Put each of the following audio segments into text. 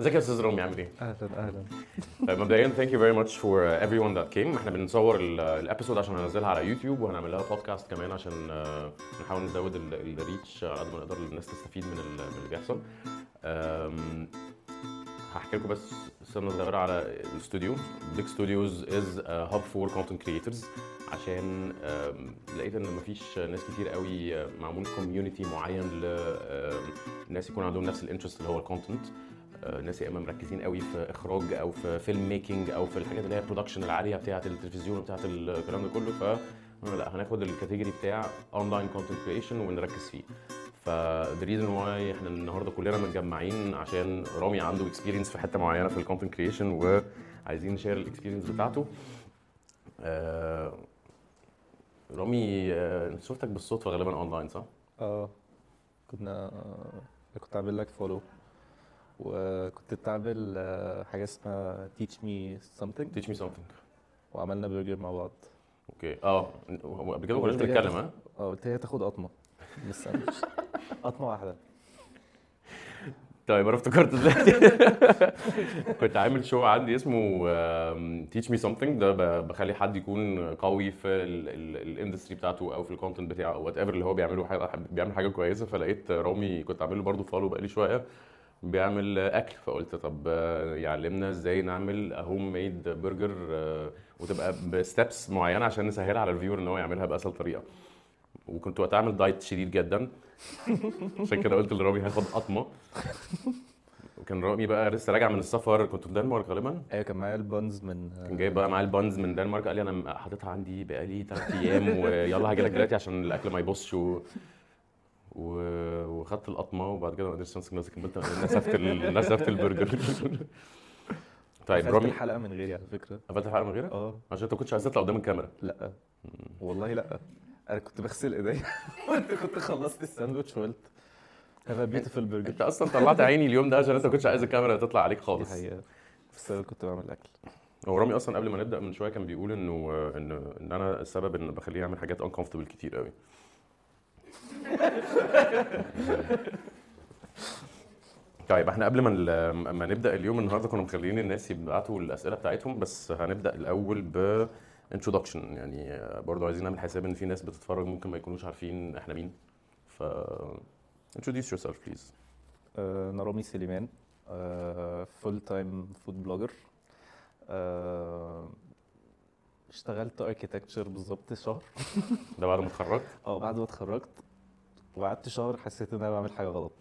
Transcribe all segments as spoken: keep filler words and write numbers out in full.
ازيك يا استاذ رامي عامل ايه؟ اهلا اهلا. طيب مبدئيا thank you very much for everyone that came. احنا بنصور الابيسود عشان هننزلها على يوتيوب وهنعمل لها بودكاست كمان عشان آه، نحاول نزود الريتش على قد ما نقدر للناس تستفيد من ال- من اللي بيحصل. آم، هحكي لكم بس سنة صغيرة على الاستوديو. بيج ستوديوز از هاب فور كونتنت كريتورز عشان آم، لقيت ان مفيش ناس كتير قوي آه، معمول كوميونتي معين للناس يكون عندهم نفس الانترست اللي هو الكونتنت. ناس يا اما مركزين قوي في اخراج او في فيلم ميكنج او في الحاجات اللي هي برودكشن العاليه بتاعه التلفزيون وبتاعه الكلام ده كله. ف لا هناخد الكاتيجوري بتاع اونلاين كونتنت كريشن ونركز فيه. ف the reason why احنا النهارده كلنا متجمعين عشان رامي عنده اكسبيرينس في حته معينه في الكونتنت كريشن وعايزين نشير الاكسبيرينس بتاعته. آه، رامي آه، شفتك بالصدفه غالبا اونلاين صح؟ اه كنا آه، كنت عامل لك فولو وكنت بتعمل آه، حاجه اسمها teach me something teach me something. وعملنا برجر مع بعض. اوكي اه هو قبل كده ما كناش وقلت لي بنتكلم هتاخد- ها؟ اه قلت لي هتاخد قطمه بس أنا مش- قطمه واحده. طيب انا افتكرت دلوقتي كنت عامل شو عندي اسمه تيتش مي سمثينج. ده ب- بخلي حد يكون قوي في الاندستري بتاعته او في الكونتنت بتاعه او وات ايفر اللي هو بيعمله حاجه بيعمل حاجه كويسه. فلقيت رامي كنت عامل له برضه فولو بقالي شويه بيعمل اكل. فقلت طب آه، يعلمنا ازاي نعمل هوم ميد برجر وتبقى بستبس معينه عشان نسهلها على الفيور ان هو يعملها باسهل طريقه. وكنت وقتها عامل دايت شديد جدا عشان كده قلت لرامي هاخد قطمه. وكان رامي بقى لسه راجع من السفر، كنت في الدنمارك غالبا. ايوه كان معايا البانز من كان جايب بقى معاه البانز من الدنمارك. قال لي انا حاططها عندي بقالي ثلاث ايام ويلا هاجي لك دلوقتي عشان الاكل ما يبصش و... و... وخدت القطمه وبعد كده ما قدرتش امسك نفسي كملت نسفت ال... نسفت البرجر. طيب قفلت رامي الحلقه من غيري على فكره. قفلت الحلقه من غيرك اه عشان انت كنتش عايز تطلع قدام الكاميرا. لا والله لا، انا كنت بغسل ايديا وانت كنت خلصت الساندوتش وقلت have a beautiful burger. انت اصلا طلعت عيني اليوم ده عشان انت كنتش عايز الكاميرا تطلع عليك دي خالص. حقيقه بس انا كنت بعمل اكل. هو رامي اصلا قبل ما نبدا من شويه كان بيقول انه ان ان انا السبب ان بخليه يعمل حاجات uncomfortable كتير قوي. طيب احنا قبل ما ال- ما نبدا اليوم النهارده كنا مخليين الناس يبعتوا الاسئله بتاعتهم، بس هنبدا الاول ب introduction. يعني برضو عايزين نعمل حساب ان في ناس بتتفرج ممكن ما يكونوش عارفين احنا مين. ف introduce yourself please. آه، انا رامي سليمان، فول تايم فود بلوجر. اشتغلت اركيتكتشر بالظبط شهر. ده بعد ما اتخرجت. اه بعد ما اتخرجت وقعدت شهر حسيت ان انا بعمل حاجه غلط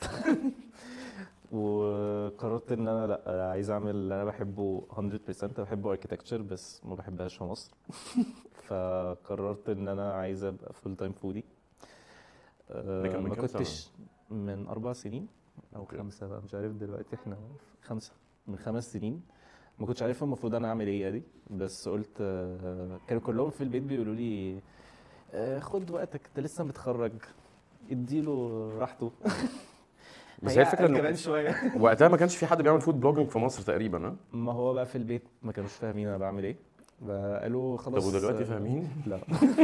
وقررت ان انا لا عايز اعمل اللي انا بحبه مية بالمية. انا بحب اركيتكتشر بس ما بحبهاش في مصر فقررت ان انا عايز ابقى فول تايم فودي. ده كان من ما كام سنة؟ كنتش من اربع سنين او أوكي. خمسه بقى مش عارف دلوقتي احنا خمسه. من خمس سنين ما كنتش عارف المفروض انا اعمل ايه دي، بس قلت آه، كانوا كلهم في البيت بيقولوا لي آه، خد وقتك انت لسه متخرج اديله راحته. بس هي الفكره كمان انه شويه. وقتها ما كانش في حد بيعمل فود بلوجينج في مصر تقريبا. ها ما هو بقى في البيت ما كانوش فاهمين انا بعمل ايه، قالوا طب خلاص. ودلوقتي فاهمين؟ لا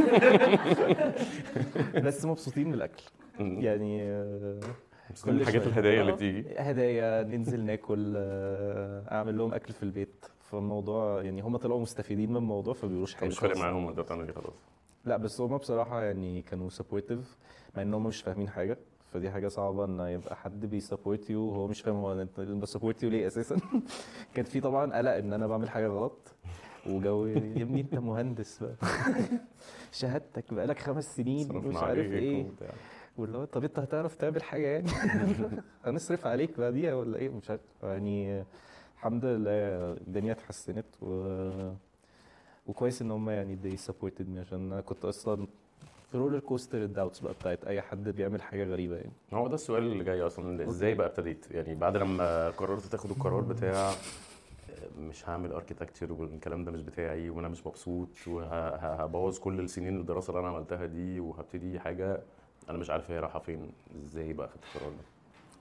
بس مبسوطين من الاكل يعني. آه، كل الحاجات شوية. الهدايا اللي آه، بتيجي. هدايا ننزل ناكل، آه، اعمل لهم اكل في البيت. فالموضوع يعني هم طلعوا مستفيدين من الموضوع فبيقولوش حاجه مش فارق خالص. معاهم انت بتعمل ايه خلاص. لا بس هم بصراحه يعني كانوا سبورتيف مع ان هم مش فاهمين حاجه. فدي حاجه صعبه ان يبقى حد بيسبورت يو وهو مش فاهم هو انت بسبورت يو ليه اساسا. كان في طبعا قلق ان انا بعمل حاجه غلط وجو يا ابني انت مهندس بقى شهادتك بقالك خمس سنين ومش صرفنا عارف عليك ايه، وبتاع. واللي هو طب انت هتعرف تعمل حاجه يعني هنصرف عليك بعديها ولا ايه مش عارف يعني. الحمد لله الدنيا اتحسنت و... وكويس ان هم يعني they supported me عشان انا كنت اصلا في رولر كوستر الداوتس بقى بتاعت اي حد بيعمل حاجه غريبه يعني. هو ده السؤال اللي جاي اصلا، ازاي بقى ابتديت؟ يعني بعد لما قررت تاخد القرار بتاع مش هعمل اركيتكتشر والكلام ده مش بتاعي وانا مش مبسوط وهبوظ كل السنين الدراسه اللي انا عملتها دي وهبتدي حاجه انا مش عارف هي رايحه فين، ازاي بقى خدت القرار ده؟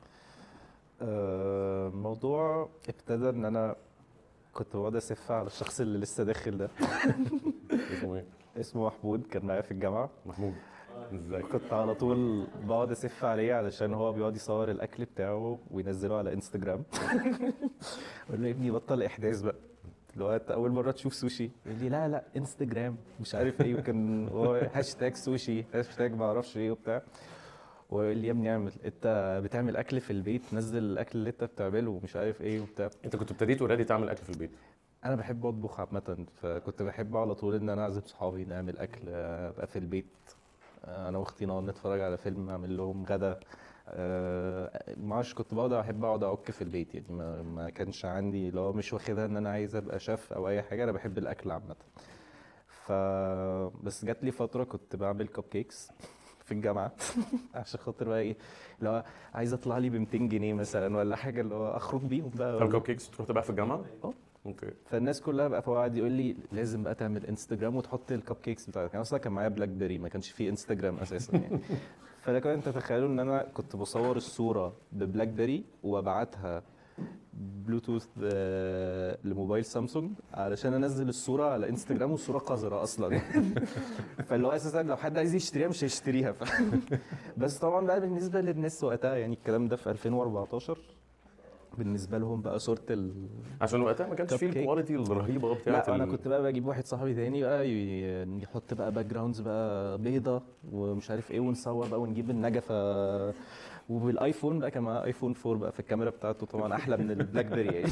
آه، الموضوع ابتدى ان انا كنت بقعد اسف على الشخص اللي لسه داخل ده. اسمه ايه؟ اسمه محمود، كان معايا في الجامعه. محمود. ازاي؟ كنت على طول بقعد اسف عليه علشان هو بيقعد يصور الاكل بتاعه وينزله على انستجرام. اقول له يا ابني بطل احداث بقى، لو انت اول مره تشوف سوشي يقول لي لا لا انستجرام مش عارف ايه، وكان هو هاشتاج سوشي هاشتاج ما اعرفش ايه وبتاع. ويقول لي يا ابني اعمل، انت بتعمل اكل في البيت نزل الاكل اللي انت بتعمله ومش عارف ايه وبتاع. انت كنت ابتديت اوريدي تعمل اكل في البيت؟ انا بحب اطبخ عامه، فكنت بحب على طول ان انا اعزم صحابي نعمل اكل، آه، ابقى في البيت، آه، انا واختي نقعد نتفرج على فيلم، اعمل لهم غدا. آه، ما اعرفش، كنت بقعد احب اقعد اعك في البيت يعني، ما, ما كانش عندي لو مش واخدها ان انا عايز ابقى شيف او اي حاجه، انا بحب الاكل عامه. ف بس جات لي فتره كنت بعمل كب كيكس في الجامعه. عشان خاطر بقى ايه، اللي هو عايز اطلع لي ب ميتين جنيه مثلا ولا حاجه، اللي هو اخرج بيهم بقى. طب كب كيكس تروح تبقى في الجامعه؟ اه. اوكي. فالناس كلها بقى فهو قاعد يقول لي لازم بقى تعمل انستجرام وتحط الكب كيكس بتاعتك. انا اصلا كان معايا بلاك بيري، ما كانش فيه انستجرام اساسا يعني. فلكن انت تتخيلوا ان انا كنت بصور الصوره ببلاك بيري وابعتها بلوتوث آه، لموبايل سامسونج علشان انزل الصوره على انستجرام، والصوره قذره اصلا. فاللي هو اساسا لو حد عايز يشتريها مش هيشتريها. ف... بس طبعا بقى بالنسبه للناس وقتها يعني، الكلام ده في ألفين وأربعتاشر، بالنسبه لهم بقى صوره ال عشان وقتها ما كانش كب فيه كيك. الكواليتي الرهيبه بتاعت لا انا ال... كنت بقى بجيب واحد صاحبي تاني بقى ي- يحط بقى باك جراوندز بقى بيضه ومش عارف ايه، ونصور بقى ونجيب النجفه. وبالايفون بقى، كان معاه ايفون فور بقى، في الكاميرا بتاعته طبعا احلى من البلاك بيري يعني.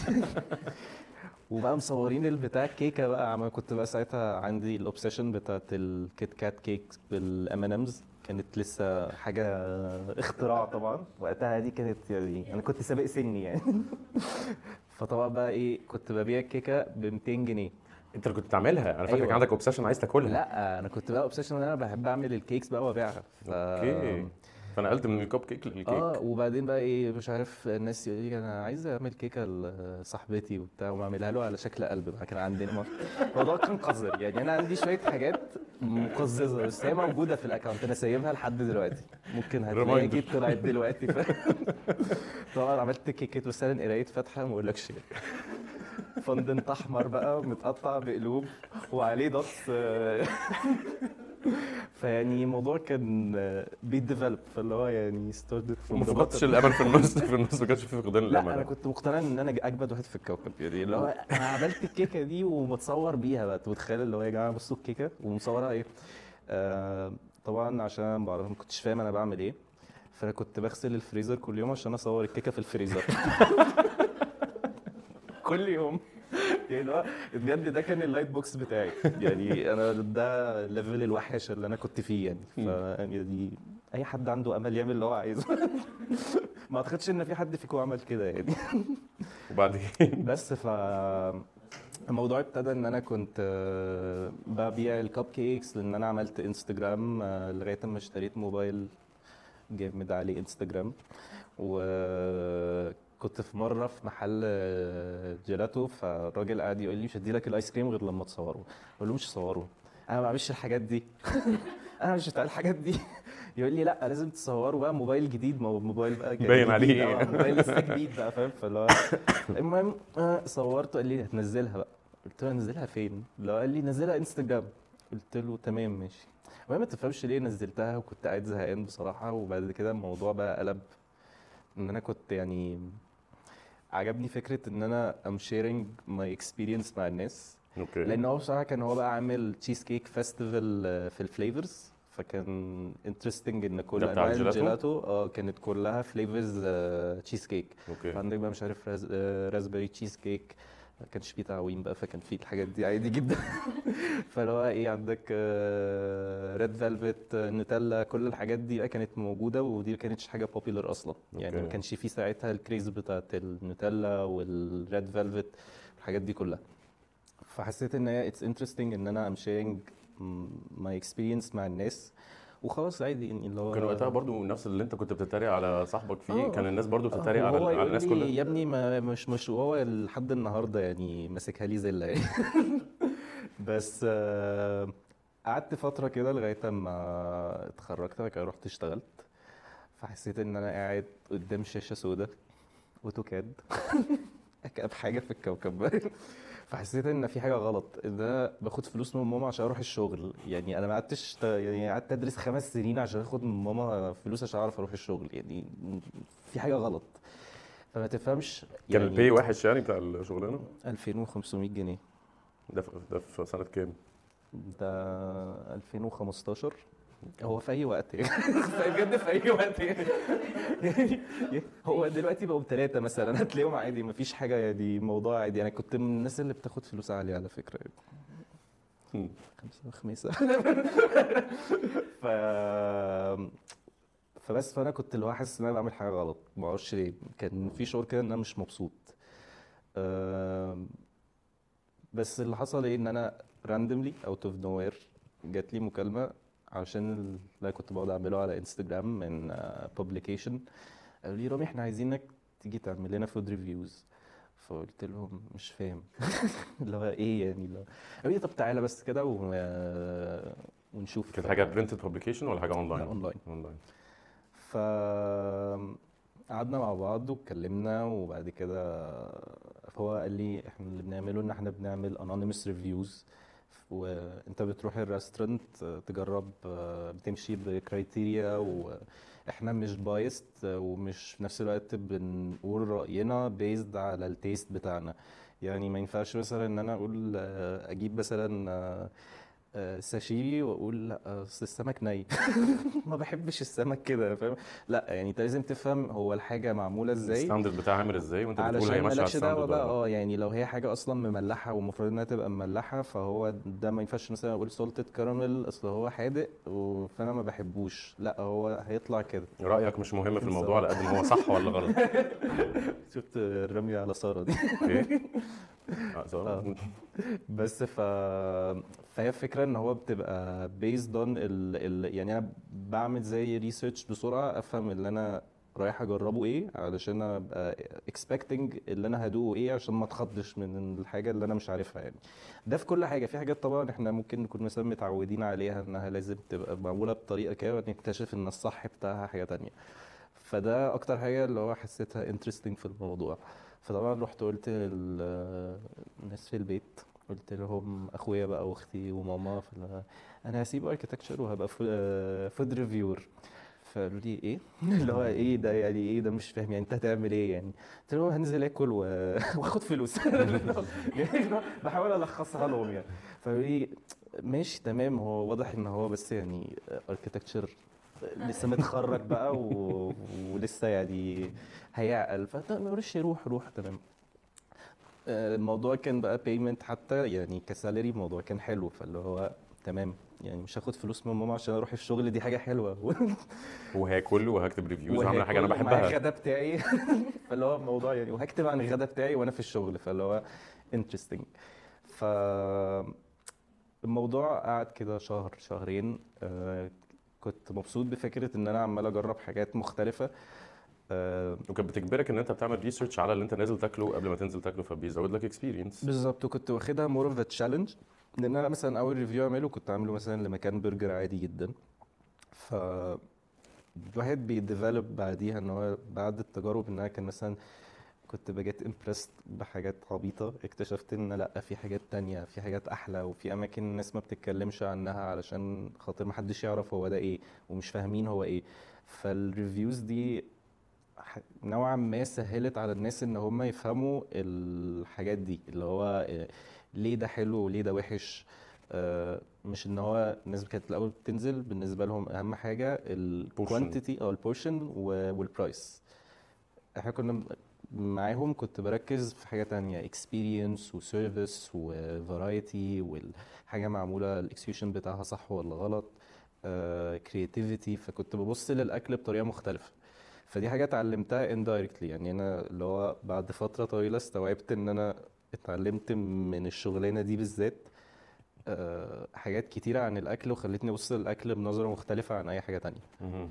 وبقى مصورين البتاع كيكه بقى. عم كنت بقى ساعتها عندي الاوبسيشن بتاعت الكيت كات كيك بالام ان امز، كانت لسه حاجه اختراع طبعا وقتها، دي كانت يعني انا كنت سابق سني يعني. فطبعا بقى ايه، كنت ببيع الكيكه ب ميتين جنيه. انت اللي كنت بتعملها؟ انا فاكرك ايوه. عندك اوبسيشن عايز تاكلها. لا انا كنت بقى اوبسيشن ان انا بحب اعمل الكيكس بقى وابيعها. ف اوكي. فنقلت من الكب كيك للكيك. اه. وبعدين بقى ايه، مش عارف، الناس يقول لي انا عايز اعمل كيكه لصاحبتي وبتاع، ومعملها له على شكل قلب بقى. كان عندنا مر- الموضوع كان قذر يعني. انا عندي شويه حاجات مقززه بس هي موجوده في الاكونت، انا سايبها لحد دلوقتي، ممكن هتلاقي Reminder. اكيد طلعت دلوقتي. ف... طبعا عملت كيكه مثلا قرايه فاتحه ما اقولكش، فندنت احمر بقى متقطع بقلوب وعليه دوتس. فيعني الموضوع كان بيديفلوب، فاللي هو يعني ستارتد وما فقدتش الامل في النص في النص ما كانش في فقدان لا الامل؟ انا كنت مقتنع ان انا اجمد واحد في الكوكب يعني، اللي هو انا عملت الكيكه دي ومتصور بيها بقى. انت متخيل اللي هو يا جماعه بصوا الكيكه ومصورها ايه. آه طبعا عشان بعرف ما كنتش فاهم انا بعمل ايه، فانا كنت بغسل الفريزر كل يوم عشان اصور الكيكه في الفريزر. كل يوم يعني. اللي هو بجد ده كان اللايت بوكس بتاعي يعني. انا ده ليفل الوحش اللي انا كنت فيه يعني. ف يعني اي حد عنده امل يعمل اللي هو عايزه. ما اعتقدش ان في حد فيكم عمل كده يعني. وبعدين بس ف الموضوع ابتدى ان انا كنت آه، ببيع الكب كيكس، لان انا عملت انستجرام آه، لغايه اما اشتريت موبايل جامد عليه انستجرام. وكنت في مره في محل آه، جيلاتو، فالراجل قاعد يقول لي مش هديلك الايس كريم غير لما تصوره. اقول له مش تصوره، انا ما بعملش الحاجات دي. انا مش بتاع الحاجات دي. يقول لي لا لازم تصوروا بقى موبايل جديد. ما هو موبايل بقى كان باين جديد، عليه. اه موبايل لسه جديد بقى فاهم. فاللي هو المهم آه، صورته. قال لي هتنزلها بقى؟ قلت له انزلها فين؟ لو قال لي نزلها انستجرام. قلت له تمام ماشي. المهم ما تفهمش ليه نزلتها، وكنت قاعد زهقان بصراحه. وبعد كده الموضوع بقى قلب ان انا كنت يعني عجبني فكره ان انا ام شيرنج ماي اكسبيرينس مع الناس. اوكي. لان هو بصراحه كان هو بقى عامل تشيز كيك فيستيفال في الفليفرز، فكان انترستنج ان كل ده بتاع انواع الجيلاتو؟ الجيلاتو اه كانت كلها فليفرز تشيز كيك. اوكي. فعندك بقى مش عارف راز... آه، رازبري تشيز كيك، ما كانش فيه تعويم بقى، فكان فيه الحاجات دي عادي جدا. فاللي هو ايه، عندك ريد فيلفت، نوتيلا، كل الحاجات دي بقى كانت موجوده، ودي ما كانتش حاجه بوبيلر اصلا يعني. أوكي. ما كانش فيه ساعتها الكريز بتاعت النوتيلا والريد فيلفت الحاجات دي كلها. فحسيت ان هي اتس انترستنج ان انا ام شيرنج ماي اكسبيرينس مع الناس، وخلاص عادي يعني. اللي هو كان وقتها برضو نفس اللي انت كنت بتتريق على صاحبك فيه، آه، كان الناس برضو بتتريق آه، على وهو على يقول الناس لي كلها. يا ابني ما مش مش وهو لحد النهارده يعني ماسكها لي زله يعني. بس آه، قعدت فتره كده لغايه اما اتخرجت، بعد كده رحت اشتغلت. فحسيت ان انا قاعد قدام شاشه سودا اوتوكاد. اكئب حاجه في الكوكب. فحسيت ان في حاجه غلط، ان انا باخد فلوس من ماما عشان اروح الشغل. يعني انا ما قعدتش ت- يعني قعدت ادرس خمس سنين عشان اخد من ماما فلوس عشان اعرف اروح الشغل. يعني في حاجه غلط، فما تفهمش كان يعني. البي وحش يعني بتاع الشغلانه؟ ألفين وخمسمية جنيه. ده في ده في سنه كام؟ ده ألفين وخمستاشر. هو في اي وقت يعني في- بجد في اي وقت يعني. يعني هو دلوقتي بقوا بثلاثة مثلا هتلاقيهم عادي، مفيش حاجة يعني، الموضوع عادي. انا كنت من الناس اللي بتاخد فلوس عالية على فكرة يعني. مم. خمسة وخميسة ف فبس فانا كنت اللي هو حاسس ان انا بعمل حاجة غلط، ما اعرفش ليه. كان في شعور كده ان انا مش مبسوط. أم، بس اللي حصل ايه، ان انا راندملي اوت اوف نو وير جات لي مكالمة عشان اللي أنا كنت بقعد اعمله على انستجرام من بابليكيشن. قالوا لي رامي احنا عايزينك تيجي تعمل لنا فود ريفيوز. فقلت لهم مش فاهم اللي هو ايه يعني. اللي هو قالوا لي طب تعالى بس كده و... ونشوف. كانت حاجه برنتد بابليكيشن ولا حاجه لا اونلاين؟ اونلاين. اونلاين. ف قعدنا مع بعض واتكلمنا، وبعد كده هو قال لي احنا اللي بنعمله ان احنا بنعمل anonymous reviews. وانت بتروح الريستورانت تجرب، بتمشي بكرايتيريا، واحنا مش بايست ومش في نفس الوقت بنقول رأينا بيزد على التيست بتاعنا. يعني ما ينفعش مثلا ان انا اقول اجيب مثلا آه، ساشيمي واقول لا اصل السمك ني ما بحبش السمك كده، فاهم؟ لا يعني انت لازم تفهم هو الحاجه معموله ازاي، الستاندرد بتاعها عامل ازاي وانت بتقول هي علشان ماشيه على مالكش دعوه الستاندرد ولا بقى. لا. اه يعني لو هي حاجه اصلا مملحه والمفروض انها تبقى مملحه، فهو ده ما ينفعش مثلا اقول سولتد كراميل اصل هو حادق و- فانا ما بحبوش، لا هو هيطلع كده. رايك مش مهم في الموضوع على بالظبط. قد ما هو صح ولا غلط. شفت الرمي على ساره دي؟ ايه؟ اه اه. ساره. بس ف فهي الفكره ان هو بتبقى based on ال... ال... يعني انا بعمل زي ريسيرش بسرعه، افهم اللي انا رايح اجربه ايه، علشان ابقى expecting اللي انا هدوقه ايه، عشان ما اتخضش من الحاجه اللي انا مش عارفها يعني. ده في كل حاجه. في حاجات طبعا احنا ممكن نكون مثلا متعودين عليها انها لازم تبقى معموله بطريقه كده، ونكتشف ان الصح بتاعها حاجه تانية. فده اكتر حاجه اللي هو حسيتها interesting في الموضوع. فطبعا رحت قلت للناس في البيت، قلت لهم اخويا بقى واختي وماما، فانا انا هسيب اركيتكتشر وهبقى فود ريفيور. فقالوا لي ايه اللي هو ايه ده يعني، ايه ده مش فاهم يعني انت هتعمل ايه يعني. قلت لهم هنزل اكل و... واخد فلوس يعني بحاول الخصها لهم يعني. فقالوا لي ماشي تمام. هو واضح ان هو بس يعني اركيتكتشر لسه متخرج بقى و... ولسه يعني هيعقل، فطب معلش روح روح تمام. آه، الموضوع كان بقى بيمنت حتى يعني كسالري، الموضوع كان حلو، فاللي هو تمام يعني مش هاخد فلوس من ماما عشان اروح الشغل، دي حاجه حلوه وهاكل وهكتب ريفيوز وعامله حاجه انا وهاكل ومعايا بحبها. الغدا بتاعي فاللي هو الموضوع يعني، وهكتب عن الغدا بتاعي وانا في الشغل، فاللي هو انترستنج. ف الموضوع قعد كده شهر شهرين. آه، كنت مبسوط بفكرة ان انا عمال اجرب حاجات مختلفة. آه، وكانت بتجبرك ان انت بتعمل ريسيرش على اللي انت نازل تاكله قبل ما تنزل تاكله، فبيزود لك اكسبيرينس. بالظبط. وكنت واخدها مور اوف تشالنج، لان انا مثلا اول ريفيو اعمله كنت عامله مثلا لمكان برجر عادي جدا. ف الواحد بيديفلوب بعديها ان هو بعد التجارب، ان انا كان مثلا كنت بجيت امبرست بحاجات عبيطة، اكتشفت ان لا في حاجات تانية، في حاجات احلى، وفي اماكن الناس ما بتتكلمش عنها علشان خاطر ما حدش يعرف هو ده ايه، ومش فاهمين هو ايه. فالريفيوز دي ح- نوعا ما سهلت على الناس ان هم يفهموا الحاجات دي، اللي هو آه، ليه ده حلو وليه ده وحش. آه، مش ان هو الناس كانت الاول بتنزل بالنسبه لهم اهم حاجه بورشن. الكوانتيتي او البورشن والبرايس. احنا كنا م- معاهم كنت بركز في حاجه تانية، experience وسيرفيس وفرايتي، والحاجه معموله الاكسكيوشن بتاعها صح ولا غلط، كرياتيفيتي. فكنت ببص للاكل بطريقه مختلفه. فدي حاجه اتعلمتها indirectly يعني. انا اللي هو بعد فتره طويله استوعبت ان انا اتعلمت من الشغلانه دي بالذات آه، حاجات كتيره عن الاكل، وخلتني ابص للاكل بنظره مختلفه عن اي حاجه تانية. مهم.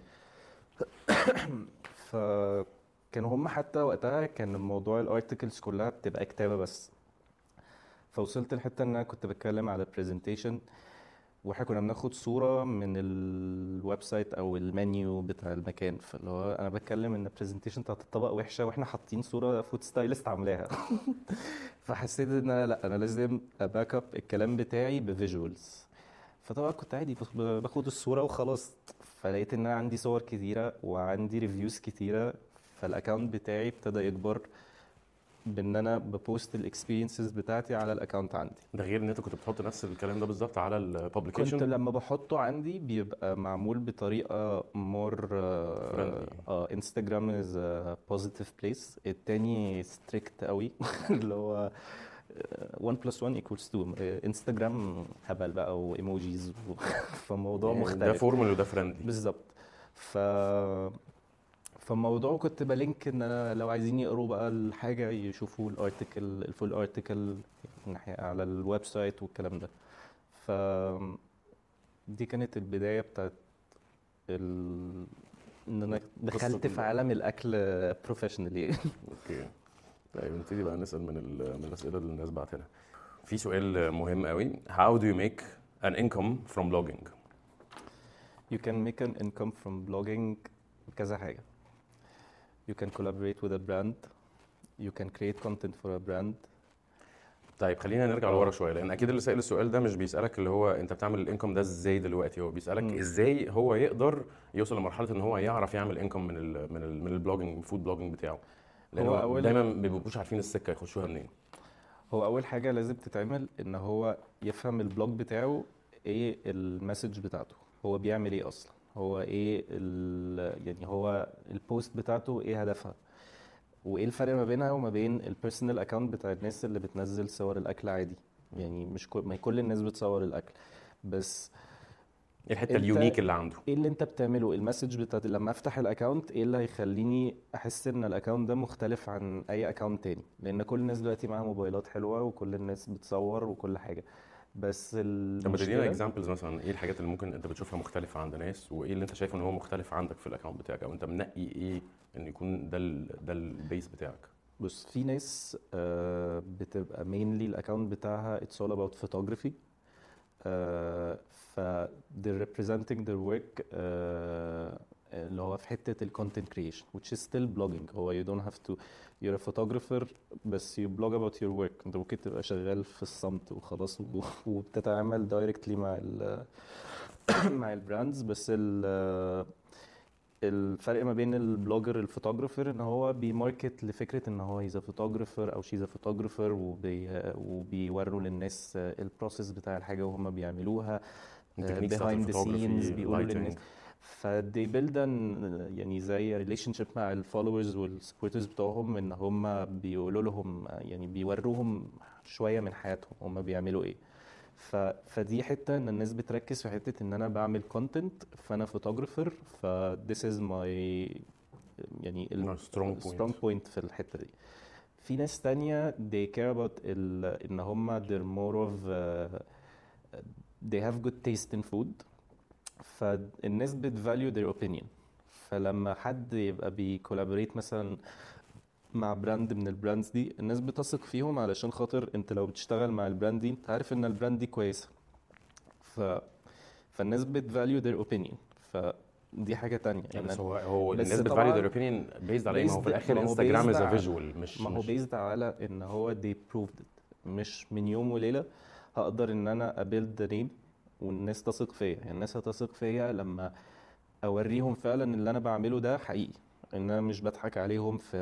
فكانوا هم حتى وقتها كان موضوع الارتكلز كلها بتبقى كتابه بس. فوصلت لحته ان انا كنت بتكلم على برزنتيشن، واحنا كنا بناخد صورة من الويب سايت او المنيو بتاع المكان، فاللي هو انا بتكلم ان البرزنتيشن بتاعت الطبق وحشة واحنا حاطين صورة فود ستايلست عاملاها. فحسيت ان انا لا، انا لازم اباك اب الكلام بتاعي بفيجوالز. فطبعا كنت عادي بخ- باخد الصورة وخلاص. فلقيت ان انا عندي صور كتيرة وعندي ريفيوز كتيرة، فالاكونت بتاعي ابتدى يكبر بان انا ببوست الاكسبيرينسز بتاعتي على الاكونت عندي. ده غير ان انت كنت بتحط نفس الكلام ده بالظبط على كنت الببليكيشن لما بحطه عندي بيبقى معمول بطريقة مور فريندلي. اه انستجرام از بوزيتيف بليس، التاني ستريكت قوي. اللي هو واحد بلس واحد equals اتنين. انستجرام هبل بقى وايموجيز و... فموضوع يعني ده مختلف فورمال وده فريندلي. بالظبط. ف فالموضوع كنت بلينك ان انا لو عايزين يقروا بقى الحاجة يشوفوا الارتكل الفول ارتكل ناحية على الويب سايت والكلام ده. ف دي كانت البداية بتاعت ال... ان انا دخلت في ال- عالم الاكل بروفيشنالي. اوكي. طيب نبتدي بقى نسال من ال- من الاسئله اللي الناس بعتنا. في سؤال مهم قوي: how do you make an income from blogging؟ You can make an income from blogging كذا حاجة. You can collaborate with a brand. You can create content for a brand. طيب خلينا نرجع اه. لورا شويه، لان اكيد اللي سائل السؤال ده مش بيسالك اللي هو انت بتعمل الانكم ده ازاي دلوقتي، هو بيسالك مم. ازاي هو يقدر يوصل لمرحله ان هو يعرف يعمل انكم من ال من ال من البلوجينج الفود بلوجينج بتاعه، لان هو هو اول دايما ما بيبقوش عارفين السكه يخشوها منين. هو اول حاجة لازم تتعمل ان هو يفهم البلوج بتاعه ايه المسج بتاعته، هو بيعمل ايه اصلا، هو ايه ال... يعني هو البوست بتاعته ايه هدفها، وايه الفرق ما بينها وما بين البيرسونال اكاونت بتاع الناس اللي بتنزل صور الاكل عادي. يعني مش كل ما كل الناس بتصور الاكل، بس ايه الحته انت اليونيك اللي عنده؟ ايه اللي انت بتعمله، المسج بتاعت لما افتح الاكاونت ايه اللي هيخليني احس ان الاكاونت ده مختلف عن اي اكاونت تاني. لان كل الناس دلوقتي معاها موبايلات حلوة وكل الناس بتصور وكل حاجة، بس طب ما تدينا المشكلة اكزامبلز مثلا، ايه الحاجات اللي ممكن انت بتشوفها مختلفه عند ناس، وايه اللي انت شايف ان هو مختلف عندك في الاكونت بتاعك، او انت منقي ايه ان يكون ده ال ده البيس بتاعك؟ بص، في ناس آه، بتبقى mainly الاكاونت بتاعها it's all about photography. آه، ف they're representing their work آه، اللي هو في حتة ال content creation which is still blogging. هو you don't have to you're a photographer بس you blog about your work. انت ممكن تبقى شغال في الصمت وخلاص و- وبتتعامل directly مع ال مع البراندز. بس ال الفرق ما بين البلوجر الفوتوغرافر ان هو بيماركت لفكره ان هو هيز فوتوغرافر او شيز فوتوغرافر، وبي وبيوروا للناس البروسيس بتاع الحاجه وهم بيعملوها التكنيكس بتاعت behind the scenes، الفوتوغرافي، بيقولوا للناس. اللايتنج. فدي بيلد يعني زي ريليشن شيب مع الفولورز والسبورترز بتوعهم، ان هم بيقولوا لهم يعني بيوروهم شويه من حياتهم هم بيعملوا ايه. ف... فدي حته ان الناس بتركز في حته ان انا بعمل كونتنت فانا فوتوغرافر، ف this is my يعني ال سترونج بوينت. strong point في الحته دي. في ناس تانية they care about ال... ان هم they're more of uh, they have good taste in food. فالناس بتvalue their opinion. فلما حد يبقى بيكولابوريت مثلا مع براند من البراندز دي، الناس بتثق فيهم علشان خاطر انت لو بتشتغل مع البراند دي انت عارف ان البراند دي كويسة. ف... فالناس بتvalue their opinion. فدي حاجة تانية يعني بس يعني. هو هو بس الناس بتفاليو طبعاً ذير اوبينيون بيزد على ايه؟ ما هو في based الاخر ما هو انستجرام based از ا على- فيجوال، مش ما هو مش based على ان هو they proved it. مش من يوم وليلة هقدر ان انا ابيلد ذا نيم والناس تثق فيا. يعني الناس هتثق فيا لما اوريهم فعلا اللي انا بعمله ده حقيقي، ان انا مش بضحك عليهم في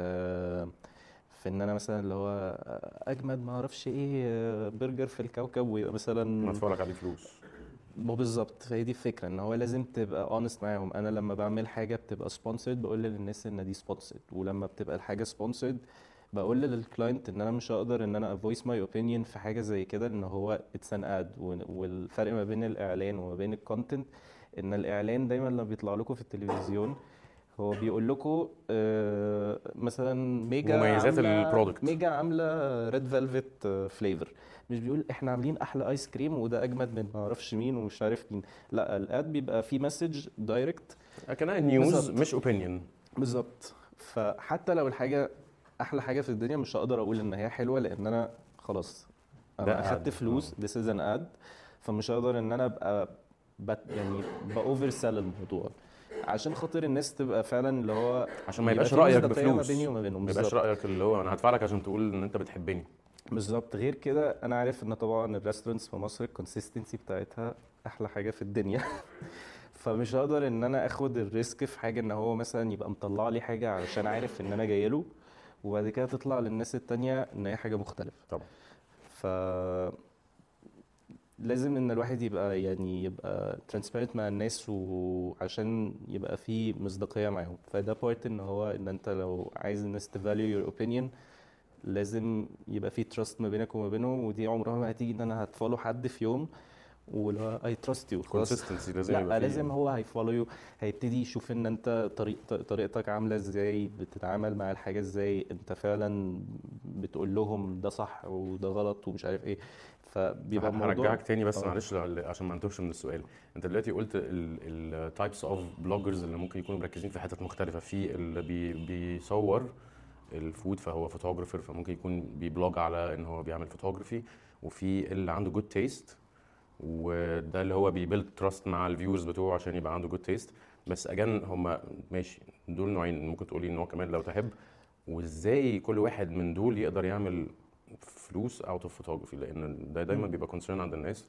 في ان انا مثلا اللي هو اجمد ما اعرفش ايه برجر في الكوكب ويبقى مثلا. مدفوع لك عليه فلوس. ما بالظبط، فهي دي الفكره، ان هو لازم تبقى اونست معاهم. انا لما بعمل حاجه بتبقى سبونسرد بقول للناس ان دي سبونسرد، ولما بتبقى الحاجه سبونسرد بقول للكلاينت ان انا مش هقدر ان انا افويس ماي اوبينيون في حاجه زي كده، ان هو اتس ان اد. والفرق ما بين الاعلان وما بين الكونتنت ان الاعلان دايما لما بيطلع لكم في التلفزيون هو بيقول لكم آه، مثلا ميجا مميزات عامله البرودكت. ميجا عامله ريد فيلفت فليفر، مش بيقول احنا عاملين احلى ايس كريم وده اجمد من ما اعرفش مين ومش عارف مين. لا، الاد بيبقى فيه مسج دايركت. كانها نيوز بالظبط. مش اوبينيون. بالظبط. فحتى لو الحاجه احلى حاجه في الدنيا مش هقدر اقول ان هي حلوه، لان انا خلاص ده انا اخدت ad. فلوس. آه. this is an ad. فمش هقدر ان انا ابقى بت يعني باوفر سيل الموضوع عشان خاطر الناس تبقى فعلا اللي هو عشان ما يبقى يبقاش في رايك مصداقيه ما بيني بفلوس، وما بينهم. ما يبقاش بالظبط رايك اللي هو انا هدفع لك عشان تقول ان انت بتحبني. بالظبط. غير كده انا عارف ان طبعا الريستورانتس في مصر الكونسيستنسي بتاعتها احلى حاجه في الدنيا فمش هقدر ان انا اخد الريسك في حاجه ان هو مثلا يبقى مطلع لي حاجه علشان عارف ان انا جاي له وبعد كده تطلع للناس التانية ان هي حاجه مختلفه. طبعا. ف لازم ان الواحد يبقى يعني يبقى ترانسبيرنت مع الناس وعشان يبقى في مصداقيه معاهم. فده بارت ان هو ان انت لو عايز الناس تفاليو يور اوبينيون لازم يبقى في تراست ما بينك وما بينه. ودي عمرها ما هتيجي ان انا هتفولو حد في يوم ولا اي تراست يو خلاص. كونسيستنسي لازم يبقى لا فيه. لازم هو هيفولو يو، هيبتدي يشوف ان انت طريق طريقتك عامله ازاي، بتتعامل مع الحاجه ازاي، انت فعلا بتقول لهم ده صح وده غلط ومش عارف ايه. فبيبقى الموضوع هرجعك تاني بس اه معلش ل- عشان ما نتوهش من السؤال. انت دلوقتي قلت التايبس اوف بلوجرز اللي ممكن يكونوا مركزين في حتت مختلفه، في اللي بي بيصور الفود فهو فوتوغرافر فممكن يكون بيبلوج على ان هو بيعمل فوتوغرافي، وفي اللي عنده جود تيست وده اللي هو بيبيلد تراست مع الفيورز بتوعه عشان يبقى عنده جود تيست. بس اجان هم ماشي دول نوعين، ممكن تقولي ان هو كمان لو تحب وازاي كل واحد من دول يقدر يعمل فلوس اوت اوف فوتوغرافي، لان ده دايما مم. بيبقى كونسيرن عند الناس.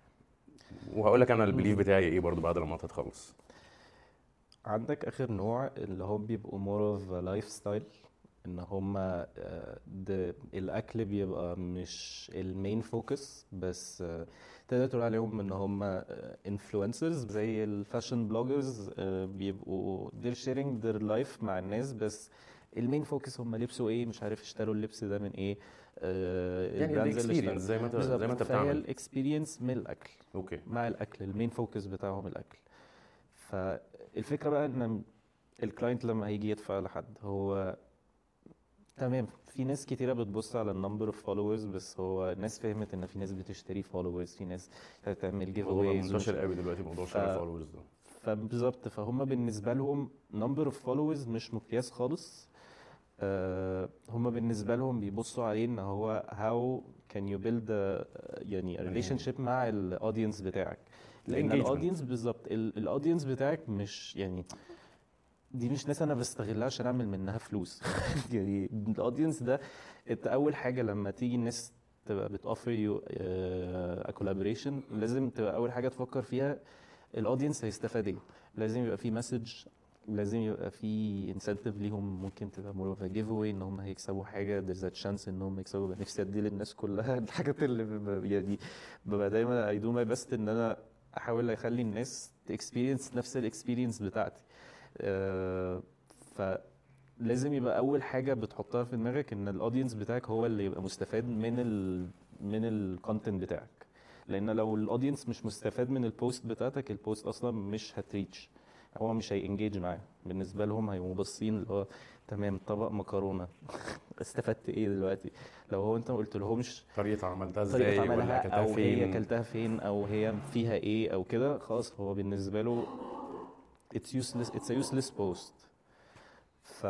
وهقول لك انا البليف مم. بتاعي ايه برضو بعد لما تتخلص. عندك اخر نوع اللي هم بيبقوا more of a lifestyle، ان هما آه، ده الاكل بيبقى مش المين فوكس بس آه، تقدر تقول عليهم ان هما انفلونسرز زي الفاشن بلوجرز. بيبقوا they're sharing their life مع الناس بس المين فوكس هم لبسوا ايه، مش عارف اشتروا اللبس ده من ايه، آه، يعني البراندز اللي اشتروا. الاكسبيرينس زي ما انت زي ما بالظبط. انت فهي بتعمل. الاكسبيرينس من الاكل، اوكي. مع الاكل المين فوكس بتاعهم الاكل. فالفكره بقى ان الكلاينت لما هيجي يدفع لحد هو تمام، في ناس كتيرة بتبص على النمبر اوف فولورز بس هو الناس فهمت ان في ناس بتشتري فولورز، في ناس هتعمل جيف الموضوع بقى اويز ومش منتشر قوي دلوقتي موضوع ف... شغل الفولورز ده. فبالظبط. فهم بالنسبة لهم نمبر اوف فولورز مش مقياس خالص. آه، هم بالنسبة لهم بيبصوا عليه ان هو how can you build a, يعني a relationship مع الاودينس بتاعك. لان الانجيجمنت. الاودينس بالظبط الاودينس بتاعك مش يعني دي مش ناس انا بستغلها عشان اعمل منها فلوس يعني الاودينس ده انت اول حاجه لما تيجي الناس تبقى بتوفر يو كولابوريشن لازم تبقى اول حاجه تفكر فيها الاودينس هيستفاد ايه. لازم يبقى في مسج، لازم يبقى في انسنتيف ليهم، ممكن تبقى مور اوف جيف اواي ان هم هيكسبوا حاجه، there's a chance ان هم يكسبوا. بقى نفسي ادي للناس كلها الحاجات اللي ب- يعني ببقى دايما اي دو ماي بيست ان انا احاول اخلي الناس تكسبيرينس نفس الاكسبيرينس بتاعتي. آه، فلازم يبقى اول حاجه بتحطها في دماغك ان الاودينس بتاعك هو اللي يبقى مستفاد من ال من الكونتنت بتاعك. لان لو الاودينس مش مستفاد من البوست بتاعتك البوست اصلا مش هتريتش، هو مش هينجيج معاه. بالنسبه لهم هيبقوا باصين اللي هو تمام طبق مكرونه استفدت ايه دلوقتي. لو هو انت ما قلت لهمش طريقه عملتها طريقه ازاي ولا عملها اكلتها او هي فين. اكلتها فين او هي فيها ايه او كده، خلاص هو بالنسبه له it's useless it's a useless post. ف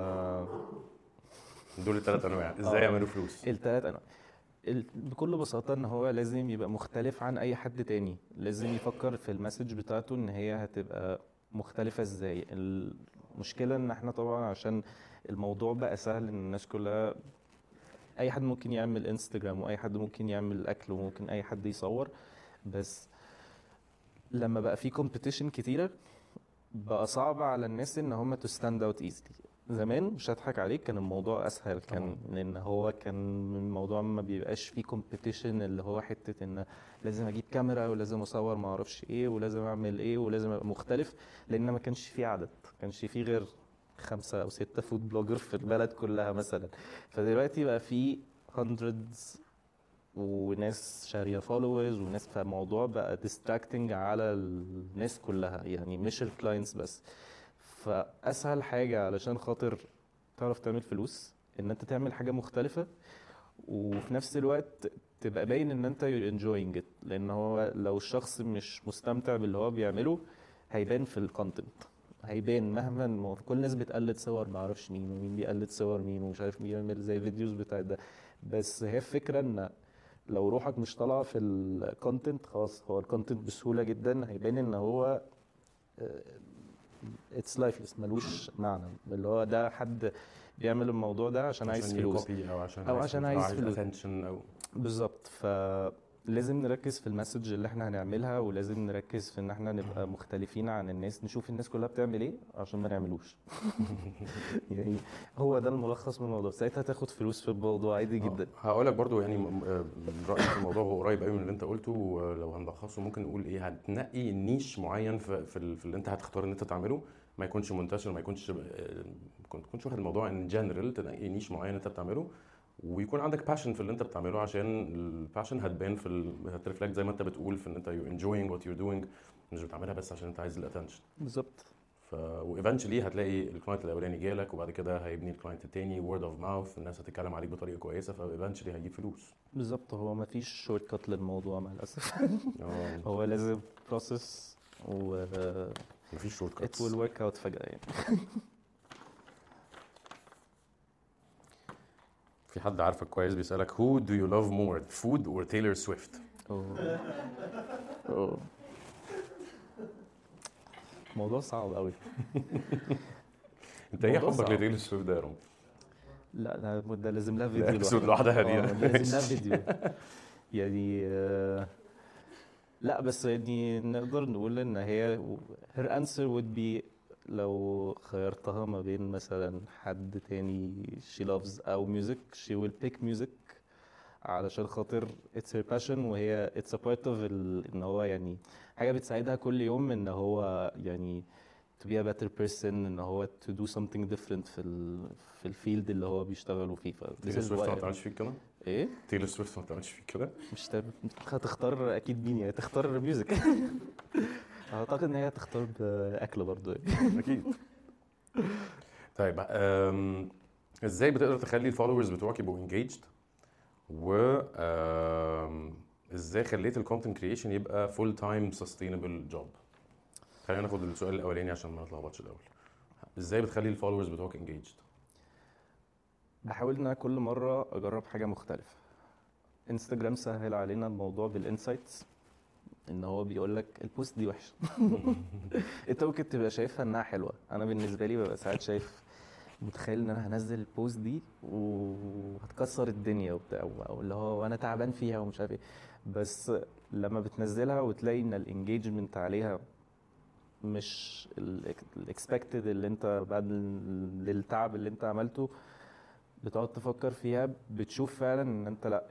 دول الثلاث انواع ازاي اه يعملوا فلوس. التلات انواع ال- بكل بساطة ان هو لازم يبقى مختلف عن اي حد تاني. لازم يفكر في المسج بتاعته ان هي هتبقى مختلفة ازاي. المشكلة ان احنا طبعا عشان الموضوع بقى سهل ان الناس كلها اي حد ممكن يعمل انستجرام واي حد ممكن يعمل اكل وممكن اي حد يصور. بس لما بقى في كومبيتيشن كتيرة بقى صعب على الناس ان هم تو ستاند اوت ايزلي. زمان مش هضحك عليك كان الموضوع اسهل، كان لان هو كان الموضوع ما بيبقاش فيه كومبيتيشن اللي هو حته ان لازم اجيب كاميرا ولازم اصور ما اعرفش ايه ولازم اعمل ايه ولازم ابقى مختلف. لان ما كانش فيه عدد، ما كانش فيه غير خمسة او ستة فود بلوجر في البلد كلها مثلا. فدلوقتي بقى فيه hundreds وناس شاريه فولورز وناس، فالموضوع بقى distracting على الناس كلها يعني مش الكلاينتس بس. فاسهل حاجه علشان خاطر تعرف تعمل فلوس ان انت تعمل حاجه مختلفه وفي نفس الوقت تبقى باين ان انت you're enjoying it. لان هو لو الشخص مش مستمتع باللي هو بيعمله هيبان في الكونتنت، هيبان مهما ما كل الناس بتقلد صور ما اعرفش مين ومين بيقلد صور مين ومش عارف مين بيعمل زي فيديوز بتاع ده. بس هي الفكره ان لو روحك مش طالعه في الكونتنت خلاص، هو الكونتنت بسهوله جدا هيبان ان هو اتس لايفلس، ملوش معنى، اللي هو ده حد بيعمل الموضوع ده عشان عايز عشان فلوس يكوبي او عشان او عايز عشان فلوس او عايز عايز فلوس اتنشن او بالظبط. فلازم نركز في المسج اللي احنا هنعملها، ولازم نركز في ان احنا نبقى مختلفين عن الناس، نشوف الناس كلها بتعمل ايه عشان ما نعملوش. يعني هو ده الملخص من الموضوع، ساعتها تاخد فلوس في الموضوع عادي جدا. هقول لك برضو يعني م- آه، من رأيي في الموضوع هو قريب قوي من اللي انت قلته. ولو هنلخصه ممكن نقول ايه، هتنقي نيش معين في في, ال- في اللي انت هتختار ان انت تعمله، ما يكونش منتشر، ما يكونش آه، ما تكونش واخد الموضوع ان جنرال، تنقي نيش معين انت بتعمله، ويكون عندك باشن في اللي انت بتعمله، عشان الباشن هتبان في ال... هترفلكت زي ما انت بتقول في ان انت you're enjoying what you're doing، مش بتعملها بس عشان انت عايز الاتنشن. بالظبط. ف وايفنشلي هتلاقي الكلاينت الاولاني جالك، وبعد كده هيبني الكلاينت التاني، وورد اوف ماوث، الناس هتتكلم عليك بطريقه كويسه، فايفنشلي هيجيب فلوس. بالظبط، هو ما فيش شورت كات للموضوع مع الاسف. اه هو لازم بروسيس و مفيش شورت it كاتس. will work out فجأة يعني. في حد عارفك كويس بيسالك who do you love more, food or Taylor Swift؟ أوه. أوه. موضوع صعب قوي. انت ايه موضوع حبك صعب. لتايلور سويفت ده يا رامي؟ لا ده ده لازم لها ده فيديو episode لوحدها. لوحدها دي. اه ده لازم لها فيديو يعني. آه، لا بس يعني نقدر نقول ان هي her answer would be لو خيرتها ما بين مثلا حد تاني she loves او music she will pick music، علشان خاطر it's her passion، وهي it's a part of ال... ان هو يعني حاجة بتساعدها كل يوم ان هو يعني to be a better person، ان هو to do something different في ال... في الفيلد اللي هو بيشتغلوا فيه. ف this تايلور is سويفت ما why بتعملش فيك كده؟ ايه تايلور سويفت ما بتعملش فيك كده؟ مش تب... هتختار اكيد مين يعني، تختار ميوزك. اعتقد ان هي هتختار باكل برضه يعني. اكيد. طيب أم... ازاي بتقدر تخلي الفولورز بتوعك يبقوا انجيجد، و أم... ازاي خليت الكونتنت كريشن يبقى فول تايم سستينبل جوب؟ خلينا ناخد السؤال الاولاني عشان ما نتلخبطش الاول. ازاي بتخلي الفولورز بتوعك انجيجد؟ بحاول ان انا كل مره اجرب حاجه مختلفه. انستجرام سهل علينا الموضوع بالانسايتس، ان هو بيقول لك البوست دي وحشه. انت ممكن تبقى شايفها انها حلوه، انا بالنسبه لي ببقى ساعات شايف متخيل ان انا هنزل البوست دي وهتكسر الدنيا وبتاع، او اللي هو وانا تعبان فيها ومش عارف ايه، بس لما بتنزلها وتلاقي ان الانجيجمنت عليها مش الاكسبكتد اللي انت بعد ال- التعب اللي انت عملته، بتقعد تفكر فيها، بتشوف فعلا ان انت لا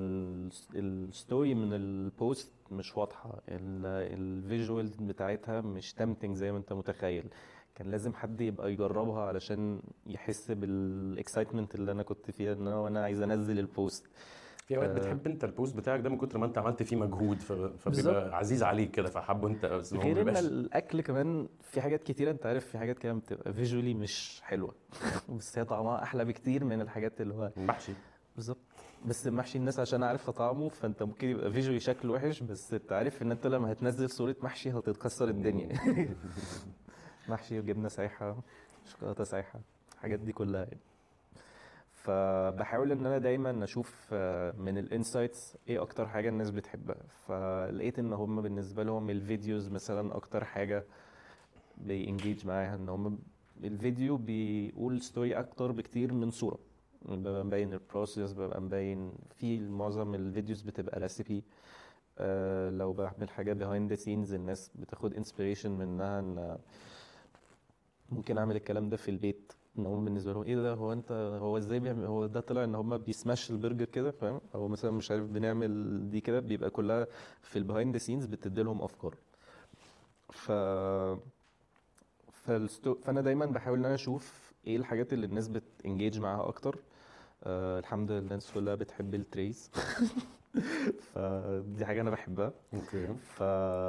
الستوري من البوست مش واضحه، الفيجوال بتاعتها مش تمتنج زي ما انت متخيل. كان لازم حد يبقى يجربها علشان يحس بالاكسايتمنت اللي انا كنت فيها، ان انا وانا عايز انزل البوست. في اوقات آه، بتحب انت البوست بتاعك ده من كتر ما انت عملت فيه مجهود، ف... بالظبط. فبيبقى عزيز عليك كده، فحبه انت، بس هو ما غير ان بيبقاش. الاكل كمان في حاجات كتيره، انت عارف في حاجات كده بتبقى فيجوالي مش حلوه بس هي طعمها احلى بكتير من الحاجات اللي هو محشي. بالظبط. بس المحشي الناس عشان عارفه طعمه، فانت ممكن يبقى فيجوالي شكله وحش، بس انت عارف ان انت لما هتنزل صوره محشي هتتكسر الدنيا. محشي وجبنه سايحه، شوكولاته سايحه، الحاجات دي كلها يعني. فبحاول ان انا دايما اشوف آه، من الانسايتس ايه اكتر حاجه الناس بتحبها، فلقيت ان هم بالنسبه لهم الفيديوز مثلا اكتر حاجه بينجيج معاها، ان هم الفيديو بيقول ستوري اكتر بكتير من صوره، ببقى مبين البروسيس، ببقى مبين في معظم الفيديوز بتبقى ريسيبي. أه لو بعمل حاجه behind the scenes الناس بتاخد inspiration منها، ان ممكن اعمل الكلام ده في البيت، ان هم بالنسبه لهم ايه ده، هو انت هو ازاي بيعمل، هو ده طلع ان هم بيسماش البرجر كده فاهم، او مثلا مش عارف بنعمل دي كده، بيبقى كلها في البيهايند ذا سينز بتدي لهم افكار. ف فالستو... فانا دايما بحاول ان انا اشوف ايه الحاجات اللي الناس بتنجيج معاها اكتر. أه الحمد لله الناس كلها بتحب التريز. فدي حاجه انا بحبها. اوكي. ف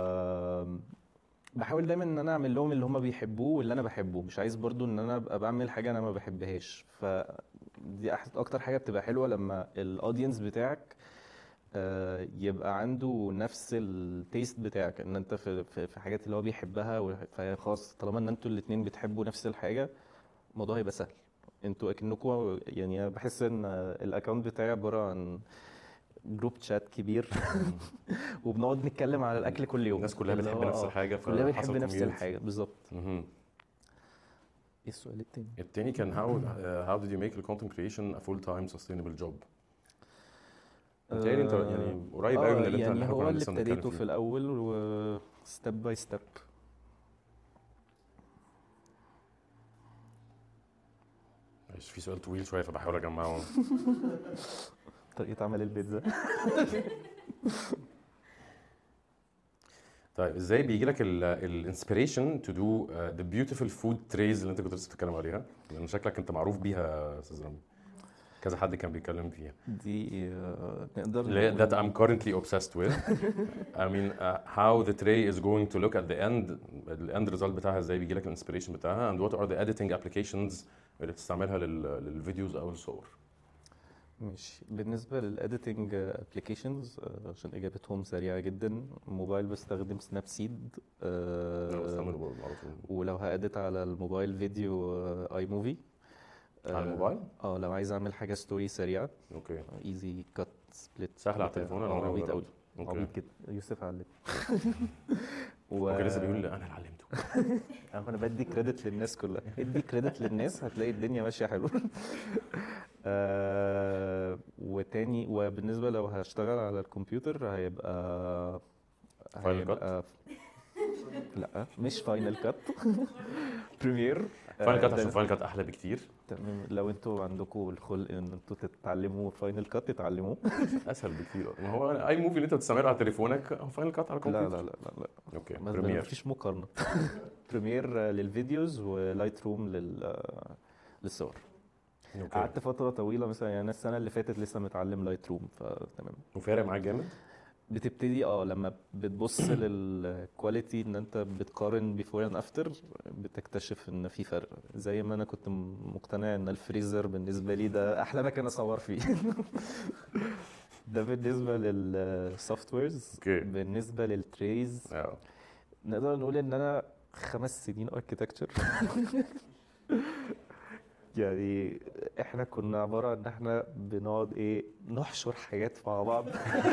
بحاول دايما ان انا اعمل لهم اللي هم بيحبوه واللي انا بحبه، مش عايز برضو ان انا ابقى بعمل حاجه انا ما بحبهاش. فدي أح- اكتر حاجه بتبقى حلوه لما الاودينس بتاعك آه، يبقى عنده نفس التيست بتاعك، ان انت في في في حاجات اللي هو بيحبها، وح- فخلاص طالما ان انتوا الاتنين بتحبوا نفس الحاجه الموضوع هيبقى سهل. انتوا اكنكوا يعني، أنا بحس ان الاكونت بتاعي عباره عن جروب شات كبير وبنقعد نتكلم على الاكل كل يوم. الناس كلها اللي بتحب هو نفس آه، الحاجه، كلها بتحب فحصل نفس community. الحاجه بالظبط. مهم. ايه السؤال التاني؟ التاني كان how uh, how did you make the content creation a full time sustainable job؟ متهيألي انت يعني قريب قوي من اللي انت يعني اللي احنا هو كنا اللي لسه بنتكلم ابتديته في فيه. الاول و ستيب باي ستيب. معلش في سؤال طويل شويه فبحاول اجمعه. طريقه عمل البيتزا. طيب ازاي بيجي لك الانسبيريشن تو دو ذا بيوتيفul فود تريز اللي انت كنت لسه بتتكلم عليها؟ لان شكلك انت معروف بيها يا استاذ رامي، كذا حد كان بيتكلم فيها. دي آه، نقدر اللي نقول- that I'm currently obsessed with. I mean uh, how the tray is going to look at the end. ال end result بتاعها ازاي بيجي لك الانسبيريشن بتاعها and what are the editing applications اللي بتستعملها لل للفيديوز او الصور. ماشي. بالنسبة للإديتنج ابلكيشنز عشان إجابتهم سريعة جدا، موبايل بستخدم سناب سيد. انا بستعمله برضه على طول. ولو هأديت على الموبايل فيديو اي موفي. على الموبايل؟ اه لو عايز اعمل حاجة ستوري سريعة اوكي ايزي كات سبليت. سهل على التليفون. انا عمري ما عبيط قوي. جربته. اوكي عبيط كده يوسف علم. و... اوكي لسه بيقول لي انا اللي علمته. انا بدي كريدت للناس كلها. ادي كريدت للناس هتلاقي الدنيا ماشيه حلو. آه وتاني وبالنسبه لو هشتغل على الكمبيوتر هيبقى Final هيبقى لا مش فاينل كات. بريمير. فاينل كات عشان فاينل كات احلى بكتير. تمام. لو انتوا عندكم الخلق ان انتوا تتعلموا فاينل كات تتعلموه. اسهل بكتير. ما هو اي موفي اللي انت بتستعمله على تليفونك هو فاينل كات على لا الكمبيوتر. لا لا لا لا اوكي ما بريمير. مفيش مقارنه. بريمير للفيديوز ولايت روم لل للصور. اوكي قعدت فترة طويلة مثلا، يعني أنا السنة اللي فاتت لسه متعلم لايت روم فتمام. وفارق معاك جامد. بتبتدي اه لما بتبص للكواليتي ان انت بتقارن بيفور اند افتر بتكتشف ان في فرق. زي ما انا كنت مقتنع ان الفريزر بالنسبة لي ده احلى مكان اصور فيه. ده بالنسبة للسوفت ويرز. اوكي بالنسبة للتريز اه نقدر نقول ان انا خمس سنين اركيتكتشر. يعني احنا كنا عبارة عن ان احنا بنقعد ايه نحشر حاجات مع بعض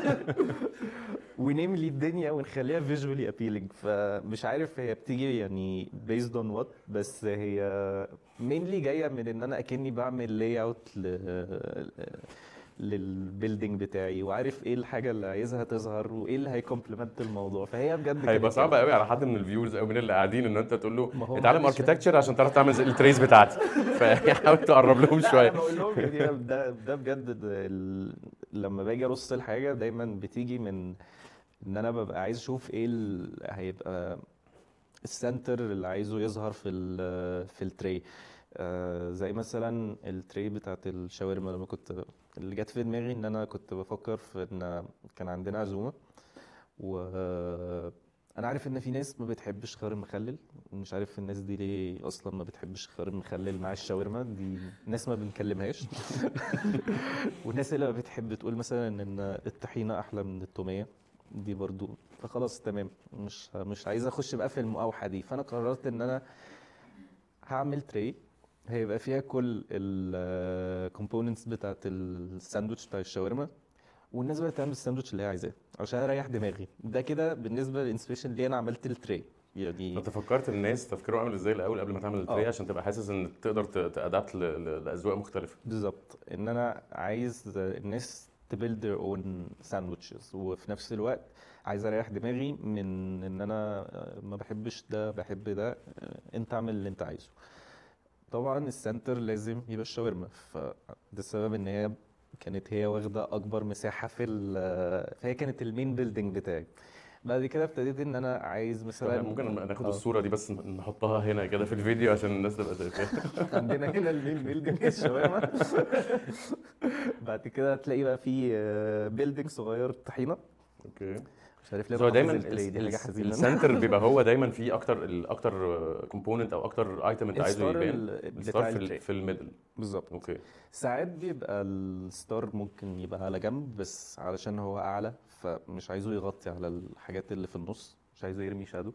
ونملي الدنيا ونخليها فيجوالي ابيلينج. فمش عارف هي بتيجي يعني based on what، بس هي mainly جاية من ان انا اكني بعمل لاي اوت للبيلدينج بتاعي وعارف ايه الحاجه اللي عايزها تظهر وايه اللي هيكومبلمنت الموضوع. فهي بجد هيبقى صعب قوي على حد من الفيورز او من اللي قاعدين ان انت تقول ما هو له اتعلم محدش اركيتكتشر عشان تعرف تعمل زي التريز بتاعتي. فحاول تقرب لهم لا شويه. انا بقول لهم يعني ده ده بجد ده ال... لما باجي ارص الحاجه دايما بتيجي من ان انا ببقى عايز اشوف ايه ال... هيبقى السنتر اللي عايزه يظهر في ال... في التري. آه زي مثلا التري بتاعت الشاورما لما كنت اللي جت في دماغي ان انا كنت بفكر في ان كان عندنا عزومه و انا عارف ان في ناس ما بتحبش خيار المخلل. مش عارف الناس دي ليه اصلا ما بتحبش خيار المخلل مع الشاورما. دي ناس ما بنكلمهاش. والناس اللي بتحب تقول مثلا ان الطحينه احلى من التوميه دي برضو. فخلاص تمام مش مش عايز اخش بقى في المقاوحه دي. فانا قررت ان انا هعمل تري هيبقى فيها كل الكومبوننتس بتاعت الساندوتش بتاع الشاورما والناس بقى تعمل الساندوتش اللي هي عايزاه عشان اريح دماغي. ده كده بالنسبه للانسبيريشن اللي انا عملت التري يعني. انت فكرت الناس تفكيره عامل ازاي الاول قبل ما تعمل التري آه. عشان تبقى حاسس ان تقدر تادابت لاذواق مختلفه. بالظبط ان انا عايز الناس تبيلد their own sandwiches وفي نفس الوقت عايز اريح دماغي من ان انا ما بحبش ده بحب ده. انت اعمل اللي انت عايزه. طبعا السنتر لازم يبقى الشاورما. فده السبب ان هي كانت هي واخده اكبر مساحه في ال- فهي كانت المين بيلدينج بتاعي. بعد كده ابتديت ان انا عايز مثلا ممكن ناخد آه. الصوره دي بس نحطها هنا كده في الفيديو عشان الناس تبقى شايفاها. عندنا هنا المين بيلدينج الشاورما. بعد كده هتلاقي بقى في بيلدينج صغير طحينه. اوكي مش عارف ليه هو بحافظ دايما التري دي حاجه حزينه. السنتر بيبقى هو دايما فيه اكتر الاكتر كومبوننت او اكتر ايتم انت عايزه الستار يبان. ال- الستار بتاع في التري ال- في الميدل. بالظبط. اوكي ساعات بيبقى الستار ممكن يبقى على جنب بس علشان هو اعلى فمش عايزه يغطي على الحاجات اللي في النص مش عايزه يرمي شادو.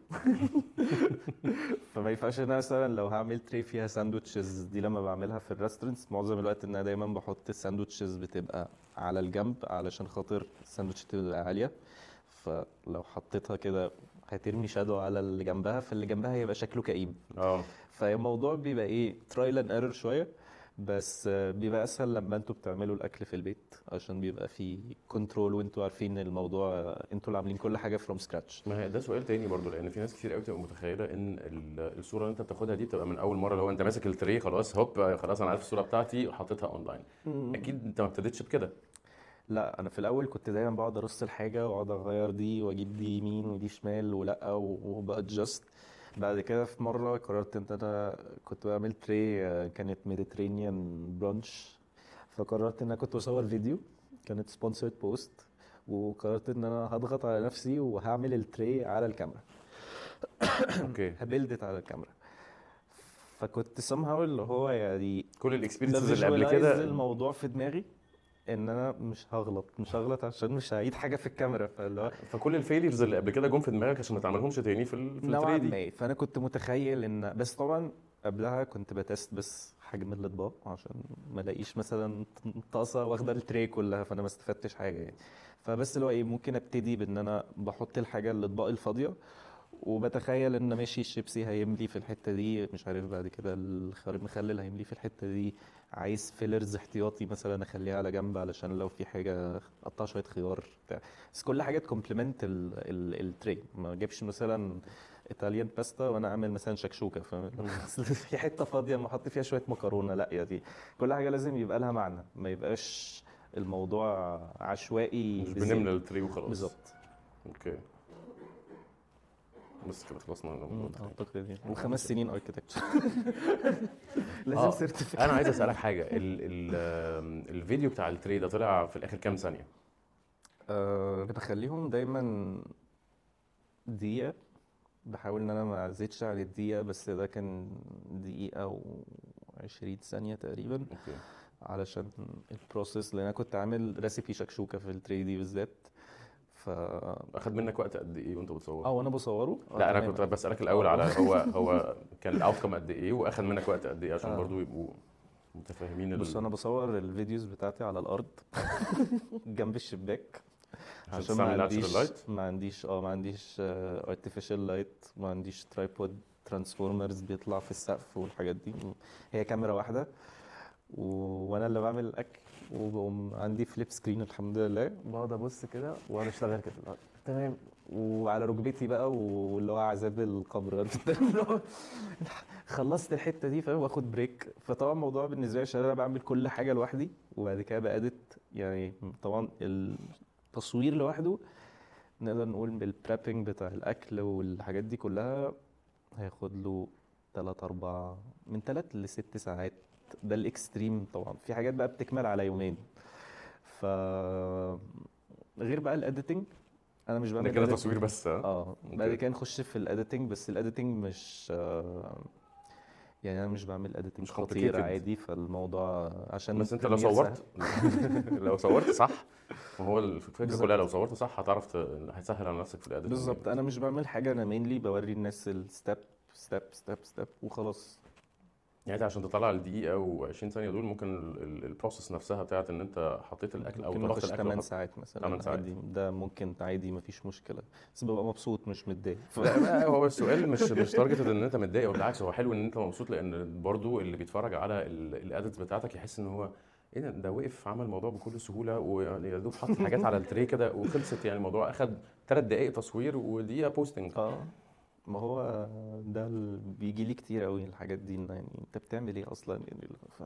فما ينفعش ان انا مثلا لو هعمل تري فيها ساندوتشز دي لما بعملها في الريستورنتس معظم الوقت ان انا دايما بحط الساندوتشز بتبقى على الجنب علشان خاطر الساندوتش تبقى عاليه، فلو حطيتها كده هترمي شادو على اللي جنبها، فاللي جنبها هيبقى شكله كئيب. اه فالموضوع بيبقى ايه ترايل اند ايرور شويه، بس آه، بيبقى اسهل لما انتوا بتعملوا الاكل في البيت عشان بيبقى في كنترول وانتوا عارفين الموضوع، آه، انتوا اللي عاملين كل حاجه فروم سكراتش. ما هي ده سؤال تاني برضو، لان في ناس كتير قوي بتبقى متخيله ان ال- الصوره اللي انت بتاخدها دي بتبقى من اول مره، اللي هو انت ماسك التري خلاص هوب خلاص انا عارف الصوره بتاعتي وحطيتها اونلاين. اكيد انت ما ابتديتش بكده. لا انا في الاول كنت دايما بقعد ارص الحاجه واقعد اغير دي واجيب دي يمين ودي شمال ولا وبادجست. بعد كده في مره قررت ان انا كنت بعمل تري، آه، كانت ميديترينيان برانش، فقررت ان انا كنت بصور فيديو، كانت سبونسرد بوست، وقررت ان انا هضغط على نفسي وهعمل التري على الكاميرا، اوكي. هبلدت على الكاميرا. فكنت somehow اللي هو يعني كل ده الاكسبيرينسز اللي قبل فيجوالايز كده. الموضوع في دماغي ان انا مش هغلط مش هغلط عشان مش هعيد حاجه في الكاميرا، فاللي هو فكل الفيليرز اللي قبل كده جم في دماغك عشان ما تعملهمش تاني في ال في نوعا التري دي. ما. فانا كنت متخيل ان، بس طبعا قبلها كنت بتست بس حجم الاطباق عشان ما الاقيش مثلا طاسه واخده التري كلها فانا ما استفدتش حاجه يعني. فبس اللي هو ايه ممكن ابتدي بان انا بحط الحاجه الاطباق الفاضيه وبتخيل ان ماشي الشيبسي هيملي في الحته دي، مش عارف بعد كده الخيار المخلل هيملي في الحته دي، عايز فيلرز احتياطي مثلا اخليها على جنب علشان لو في حاجه اقطع شويه خيار بتاع. بس كل حاجه تكومبلمنت التري، ما اجيبش مثلا ايطاليان باستا وانا اعمل مثلا شكشوكه، فاهم؟ أصل في حته فاضيه ما احط فيها شويه مكرونه، لا يا دي كل حاجه لازم يبقى لها معنى، ما يبقاش الموضوع عشوائي مش بزياده. بنملى التري وخلاص. بالظبط. اوكي. بس كده خلصنا من مم، الموضوع. اعتقد يعني وخمس سنين اركتكتشر. لازم اه سيرتيفيكت. انا عايز اسالك حاجه، ال ال الفيديو بتاع التري ده طلع في الاخر كام ثانيه؟ أه بخليهم دايما دقيقة، بحاول ان انا ما ازيدش عن الدقيقة، بس ده كان دقيقة و عشرين ثانية تقريبا اوكي. علشان البروسيس، لان انا كنت عامل ريسيبي شكشوكة في التري دي بالذات. ف اخد منك وقت قد ايه وانت بتصور؟ اه وانا بصوره آه، لا انا تمام. كنت بسالك الاول آه. على هو هو كان الاوتكم قد ايه واخد منك وقت قد ايه عشان آه. برضو يبقوا متفاهمين بص ال... انا بصور الفيديوز بتاعتي على الارض جنب الشباك عشان هتستعمل ما ناتشرال عنديش لايت. ما عنديش اه ما عنديش ارتفيشال لايت، ما عنديش ترايبود ترانسفورمرز بيطلع في السقف والحاجات دي، هي كاميرا واحده و... وانا اللي بعمل الاكل، وبقوم عندي فليب سكرين الحمد لله، بقعد ابص كده وانا اشتغل كده اللي هو تمام، وعلى ركبتي بقى واللي هو عذاب القبر اللي هو خلصت الحته دي فاهم، واخد بريك. فطبعا الموضوع بالنسبه لي عشان انا بعمل كل حاجه لوحدي وبعد كده بأدت يعني، طبعا التصوير لوحده نقدر نقول بالبريبنج بتاع الاكل والحاجات دي كلها هياخد له تلات اربع من تلات لست ساعات، ده الاكستريم. طبعا في حاجات بقى بتكمل على يومين. ف غير بقى الاديتنج، انا مش ده بعمل كده edit- تصوير بس ها؟ اه بعد اوكي. كده نخش في الاديتنج، بس الاديتنج مش آه، يعني انا مش بعمل اديتنج مش خطير complicated. عادي، فالموضوع عشان بس انت لو بريمير صورت سهل. لو صورت صح، وهو الفكره بالظبط. كلها لو صورت صح هتعرف ت... هتسهل على نفسك في الاديتنج. بالظبط انا مش بعمل حاجه، انا مينلي بوري الناس الستep ستيب ستيب ستيب وخلاص. يعني انت عشان تطلع الدقيقه و20 ثانيه دول ممكن البروسيس نفسها بتاعت ان انت حطيت الاكل او ممكن طبخت نخش الاكل ثمانية وحط... ساعات مثلا ثمانية ساعات. عادي، ده ممكن عادي مفيش مشكله، بس ببقى مبسوط مش متضايق. ف... لا بقى هو السؤال مش مش تارجتد ان انت متضايق، بالعكس هو حلو ان انت مبسوط، لان برضو اللي بيتفرج على الاديتس بتاعتك يحس ان هو ايه ده ده وقف عمل الموضوع بكل سهوله ويعني يا دوب حط حاجات على التري كده وخلصت، يعني الموضوع اخد ثلاث دقائق تصوير ودقيقه بوستنج. اه ما هو ده اللي بيجي لي كتير قوي الحاجات دي، إن يعني انت بتعمل ايه اصلا يعني. ف...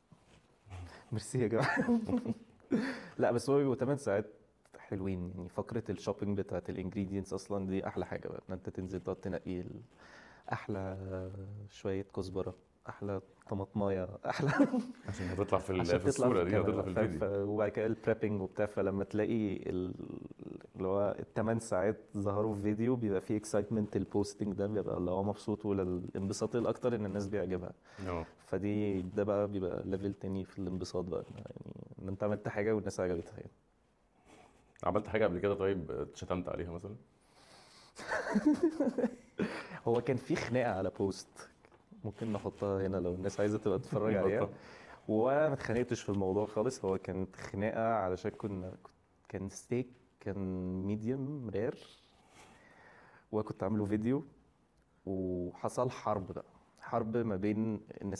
ميرسي يا جماعه. لا بس هو بيبقوا ثمانية ساعات حلوين يعني. فقره الشوبينج بتاعت الانجريدينتس اصلا دي احلى حاجه بقى، ان انت تنزل تقعد تنقي ال- احلى شويه كزبره، احلى طماطمايه، احلى عشان هتطلع في ال- عشان في تطلع في الصوره دي الكاميرا هتطلع في ف... ف... الفيديو. وبعد كده البريبنج وبتاع، فلما تلاقي ال... اللي هو الثمان ساعات ظهروا في فيديو بيبقى فيه اكسايتمنت، البوستنج ده بيبقى اللي هو مبسوط، والانبساط الاكتر ان الناس بيعجبها. اه فدي ده بقى بيبقى ليفل تاني في الانبساط بقى، يعني ان انت عملت حاجه والناس عجبتها يعني. عملت حاجه قبل كده طيب اتشتمت عليها مثلا؟ هو كان في خناقه على بوست، ممكن نحطها هنا لو الناس عايزه تبقى تتفرج عليها. وانا ما اتخانقتش في الموضوع خالص، هو كانت خناقه علشان كنا كان ستيك كان ميديوم رير، وكنت عامله فيديو، وحصل حرب بقى، حرب ما بين الناس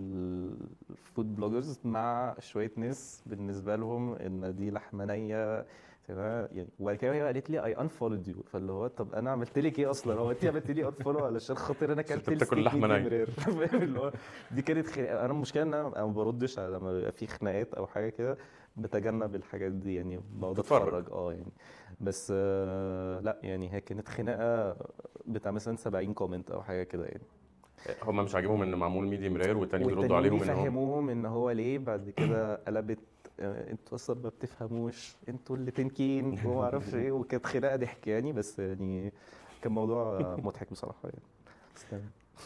الفود بلوجرز مع شويه ناس بالنسبه لهم ان دي لحمه نيه تمام يعني. وبعد كده هي قالت لي اي انفولد يو، فاللي هو طب انا عملت لك ايه اصلا؟ هو انت عملت لي انفولو علشان خاطر انا عشان انت اكلت بتاكل الستيك لحمة ميديوم نية. رير فاهم اللي هو دي كانت خناقه. انا المشكله ان انا أنا ما بردش على لما بيبقى في خناقات او حاجه كده، بتجنب الحاجات دي يعني، بقعد تتفرج. اتفرج اه يعني. بس آه، لا يعني هي كانت خناقه بتاع مثلا سبعين كومنت او حاجه كده يعني. هم مش عاجبهم ان معمول ميديم رير، والتانيين بيردوا والتانيين عليهم ان هم بيفهموهم ان هو ليه، بعد كده قلبت آه، انتوا اصلا ما بتفهموش، انتوا اللي تنكين وما اعرفش ايه، وكانت خناقه ضحك يعني. بس يعني كان موضوع آه، مضحك بصراحه يعني. بس تمام.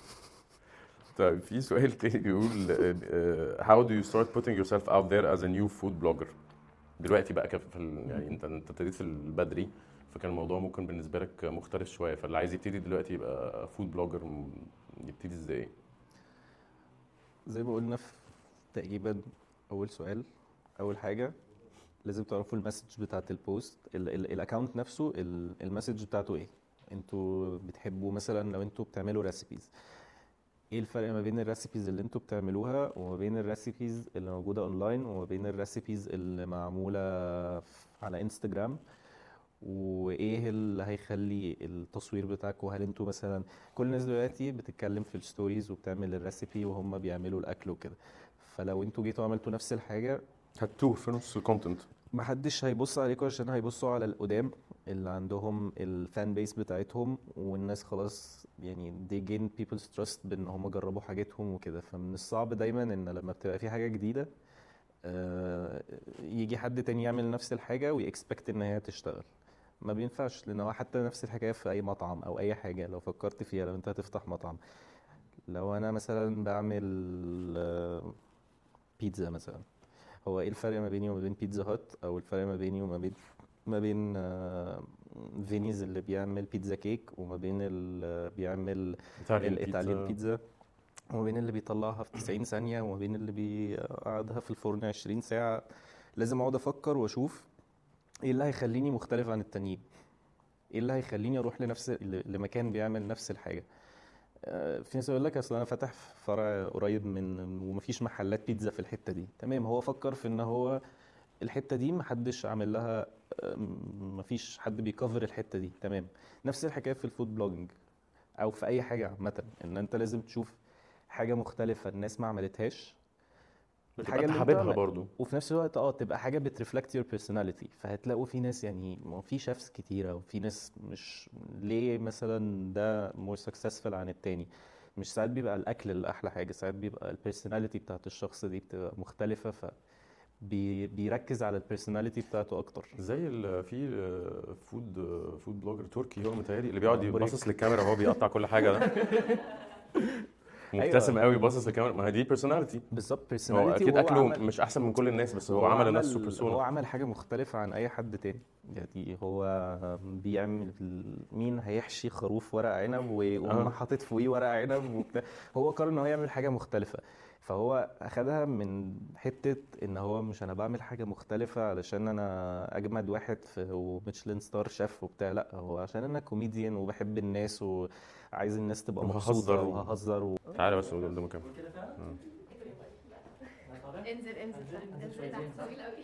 طيب في سؤال تاني بيقول آه، how do you start putting yourself out there as a new food blogger دلوقتي بقى كف في ال- يعني انت انت ابتديت في البدري، فكان الموضوع ممكن بالنسبه لك مختلف شويه، فاللي عايز يبتدي دلوقتي يبقى فود بلوجر يبتدي ازاي؟ زي ما قلنا في تقريبا اول سؤال، اول حاجه لازم تعرفوا المسج بتاعت البوست، الاكونت نفسه، ال- المسج بتاعته ايه. انتوا بتحبوا مثلا لو انتوا بتعملوا ريسيبيز، ايه الفرق ما بين الريسيبيز اللي انتوا بتعملوها وما بين الريسيبيز اللي موجودة اونلاين وما بين الريسيبيز اللي معمولة ف- على انستجرام؟ وايه اللي هيخلي التصوير بتاعكم، هل انتوا مثلا كل الناس دلوقتي بتتكلم في الستوريز وبتعمل الريسيبي وهم بيعملوا الاكل وكده، فلو انتوا جيتوا عملتوا نفس الحاجة هتوه في نص الكونتنت. محدش هيبص عليكم، عشان هيبصوا على القدام اللي عندهم الفان بيس بتاعتهم، والناس خلاص يعني they gain people's trust بان هم جربوا حاجتهم وكده. فمن الصعب دايما ان لما بتبقى في حاجة جديدة آه، يجي حد تاني يعمل نفس الحاجة ويكسبكت ان هي تشتغل. ما بينفعش، لان هو حتى نفس الحكاية في اي مطعم او اي حاجة لو فكرت فيها. لو انت هتفتح مطعم، لو انا مثلا بعمل آه، بيتزا مثلا، هو ايه الفرق ما بيني وما بين بيتزا هات، او الفرق ما بيني وما بين ما بين آه، فينيز اللي بيعمل بيتزا كيك، وما بين اللي بيعمل ايطاليان الايطاليان بيتزا. بيتزا، وما بين اللي بيطلعها في تسعين ثانية، وما بين اللي بيقعدها في الفرن عشرين ساعة. لازم اقعد افكر واشوف ايه اللي هيخليني مختلف عن التانيين، ايه اللي هيخليني اروح لنفس لمكان بيعمل نفس الحاجة. آه، في ناس يقول لك اصل انا فاتح فرع قريب من ومفيش محلات بيتزا في الحتة دي. تمام، هو فكر في ان هو الحته دي محدش عامل لها، أم، مفيش حد بيكفر الحته دي. تمام، نفس الحكايه في الفود بلوجينج او في اي حاجه عامه، ان انت لازم تشوف حاجه مختلفه الناس ما عملتهاش، بتبقى الحاجه انت اللي انت حاببها عمل، برضو. وفي نفس الوقت اه تبقى حاجه بترفلكت يور بيرسوناليتي. فهتلاقوا في ناس يعني، ما هو في شيفs كتيره وفي ناس مش، ليه مثلا ده مور سكسسفul عن التاني؟ مش ساعات بيبقى الاكل اللي احلى حاجه، ساعات بيبقى البيرسوناليتي بتاعت الشخص دي بتبقى مختلفه، ف بي بيركز على البيرسوناليتي بتاعته اكتر. زي ال في فود فود بلوجر تركي هو متهيألي اللي اه بيقعد بوريك. يبصص للكاميرا وهو بيقطع كل حاجه ده، مبتسم ايوه قوي باصص للكاميرا، ما هي دي بيرسوناليتي. بالظبط هو بيرسوناليتي، اكيد وهو اكله عمل، مش احسن من كل الناس، بس هو وهو عمل لنفسه عمل بيرسونا. هو عمل حاجه مختلفه عن اي حد تاني. يعني هو بيعمل مين هيحشي خروف ورق عنب ويقوم اه حاطط فوقيه ورق عنب وبتاع. هو قرر ان هو يعمل حاجه مختلفه، فهو اخدها من حته ان هو مش انا بعمل حاجه مختلفه علشان انا اجمد واحد في وميشلان ستار شيف وبتاع، لا هو عشان انا كوميديان وبحب الناس وعايز الناس تبقى مبسوطه وههزر و... وههزر و... تعالى بس قول قدامه كام. انزل انزل انزل تحت طويل قوي.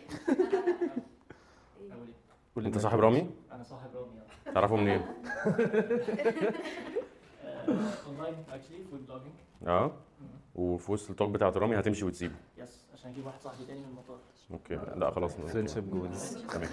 قول انت لنا صاحب انت رامي؟ انا صاحب رامي اه تعرفه منين؟ اونلاين اكشلي فود بلوجينج. اه وفي وسط التوك بتاعت رامي هتمشي وتسيبه. يس عشان اجيب واحد صاحبي تاني من المطار. اوكي لا خلاص فريندشيب جولز. تمام.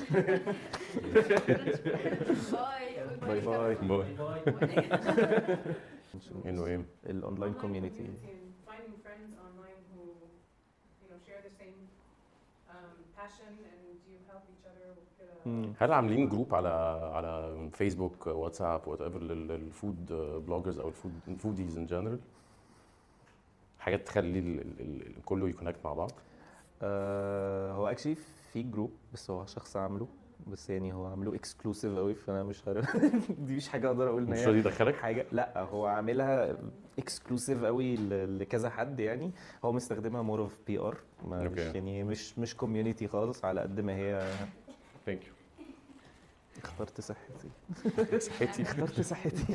باي باي باي. باي. باي. انه ايه؟ الاونلاين كوميونتي. finding friends online who you know share the same um, passion and you help each other وكده. هل عاملين جروب على على فيسبوك واتساب وات ايفر للفود بلوجرز او الفود فوديز ان جنرال؟ حاجات تخلي ال- ال- ال- كله يكونكت مع بعض. آه هو اكشلي في جروب، بس هو شخص عامله بس يعني هو عامله اكسكلوسيف قوي فانا مش عارف دي مش حاجه اقدر اقول ان مش هي راضي يدخلك؟ حاجه، لا هو عاملها اكسكلوسيف قوي ل- لكذا حد يعني. هو مستخدمها مور اوف بي ار، مش أوكي. يعني مش مش كوميونتي خالص على قد ما هي. ثانك يو. اخترت صحتي صحتي. اخترت صحتي.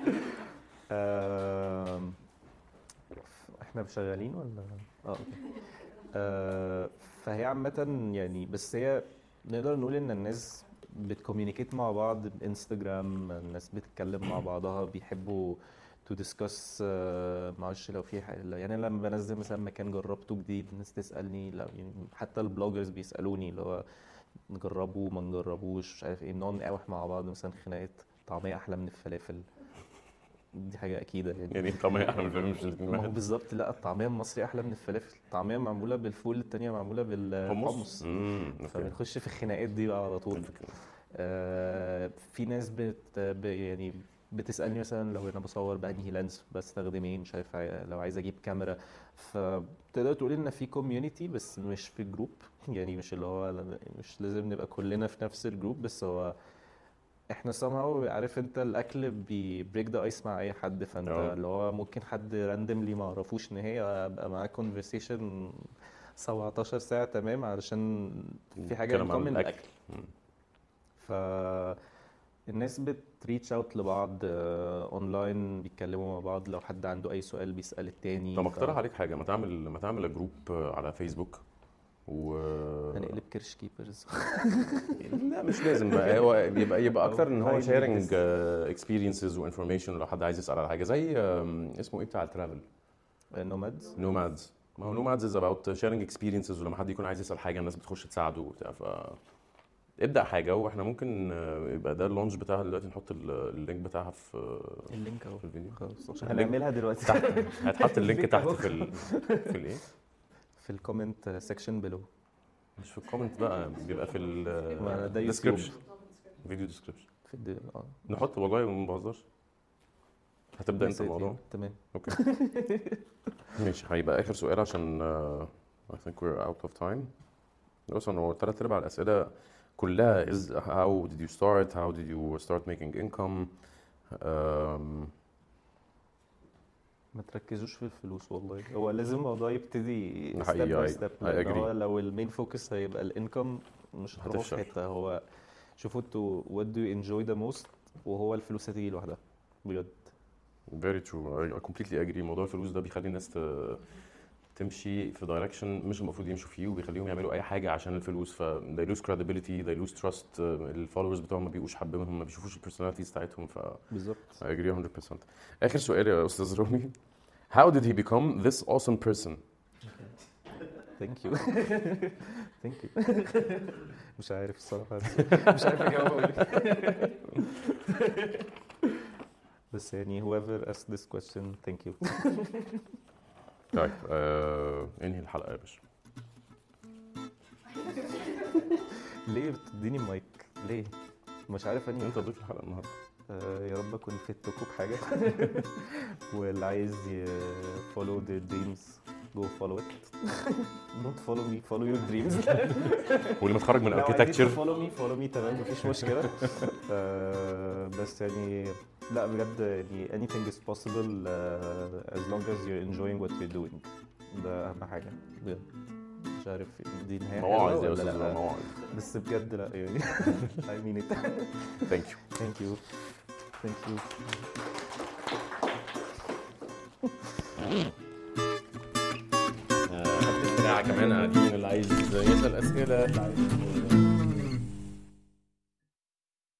آم، احنا شغالين ولا اه اوكي. آه، فهي عامة يعني، بس هي نقدر نقول ان الناس بتكوميونيكيت مع بعض بانستجرام، الناس بتتكلم مع بعضها، بيحبوا تو ديسكاس. معرفش لو في حاجة يعني، أنا لما بنزل مثلا مكان جربته جديد الناس تسألني، لا يعني حتى البلوجرز بيسألوني اللي هو نجربه ما نجربوش مش عارف ايه، نقعد نقاوح مع بعض مثلا خناقات طعمية أحلى من الفلافل، دي حاجة أكيدة يعني. يعني طبعا احنا الفيلم مش الاثنين ما هو واحد. بالظبط، لا الطعمية المصري أحلى من الفلافل، الطعمية معمولة بالفول، التانية معمولة بالحمص، امم اوكي. فبنخش في الخناقات دي بقى على طول. آه، في ناس بت ب- يعني بتسألني مثلا لو انا بصور بأنهي لينس بستخدم ايه، مش عارف عاي- لو عايز اجيب كاميرا، فتقدر تقول ان في كوميونتي بس مش في جروب يعني، مش اللي هو مش لازم نبقى كلنا في نفس الجروب، بس هو احنا somehow عارف انت الاكل بيبريك ذا ايس مع اي حد، فانت اه. اللي هو ممكن حد راندملي ما اعرفوش ان هي ابقى معاه كونفرسيشن سبعتاشر ساعة تمام علشان في حاجة نتكلم ان عن كومن الأكل. الاكل. فالناس بتريتش اوت لبعض اونلاين، بيتكلموا مع بعض، لو حد عنده اي سؤال بيسأل التاني. طب اقترح عليك حاجه، ما تعمل ما تعمل جروب على فيسبوك و هنقلب كرش كيبرز. لا مش لازم بقى، هو يبقى يبقى اكتر ان هو أو شيرنج highly اكسبيرينسز وانفورميشن، لو حد عايز يسال على حاجه زي آم، اسمه ايه بتاع الترافل، نومادز. نومادز. ما هو نومادز از اباوت شيرنج اكسبيرينسز، ولما حد يكون عايز يسال حاجه الناس بتخش تساعده وبتاع. ف ابدا حاجه، واحنا ممكن آه، يبقى ده اللونش بتاعها دلوقتي، نحط ال- اللينك بتاعها في اللينك اهو في الفيديو خلاص اللينك هنعملها دلوقتي تحت. هتحط اللينك اللينك تحت أهو. في ال... في الايه، في الكومنت سيكشن بلو. مش في الكومنت بقى، بيبقى في ما أنا ده ال يوتيوب. description، فيديو ديسكريبشن. في الد... اه نحط والله ما بهزرش. هتبدا انت ماشي، الموضوع؟ تمام. اوكي. ماشي، هيبقى اخر سؤال عشان uh, I think we're out of time. بص انا هو تلات ارباع الاسئله كلها is how did you start, how did you start making income. um, ما تركزوش في الفلوس والله، هو لازم الموضوع يبتدي ده step حقيقي، by I- step، I لان agree. هو لو المين فوكس هيبقى الانكم مش هتروحوا في هتفشل. حته. هو شوفوا انتوا what do you enjoy the most، وهو الفلوس هتيجي لوحدها بجد. very true, I completely agree. موضوع الفلوس ده بيخلي الناس ت- تمشي في دايركشن مش المفروض يمشوا فيه، وبيخليهم يعملوا اي حاجه عشان الفلوس، ف they lose credibility, they lose trust. الفولورز بتوعهم ما بيبقوش حابينهم، ما بيشوفوش البيرسوناليتيز بتاعتهم. ف بالظبط. I agree one hundred percent. آخر سؤال يا أستاذ رامي. How did he become this awesome person? ثانك يو ثانك يو. مش عارف الصراحه، مش عارف اجاوب أقول إيه. بس يعني whoever asked this question thank you. طيب آه، انهي الحلقة يا باشا. ليه بتديني مايك ليه؟ مش عارف اني انت ضيف الحلقة النهارده. آه، يا رب اكون فدتكم بحاجه. واللي عايز ي follow their dreams go follow it. don't follow me, follow your dreams. واللي متخرج من لو عايزين architecture. follow me follow me تمام مفيش مشكله. آه، بس يعني لا بجد يعني anything is possible uh, as long as you're enjoying what you're doing. ده اهم حاجه بجد. مش عارف دي نهايه حلوه مواعظ يا ولا أستاذ رامي، لا، مواعظ. بس بجد لا يعني. I mean it. Thank you. Thank you. Thank you. آه، كمان قاعدين اللي عايز يسأل أسئلة، اللي عايز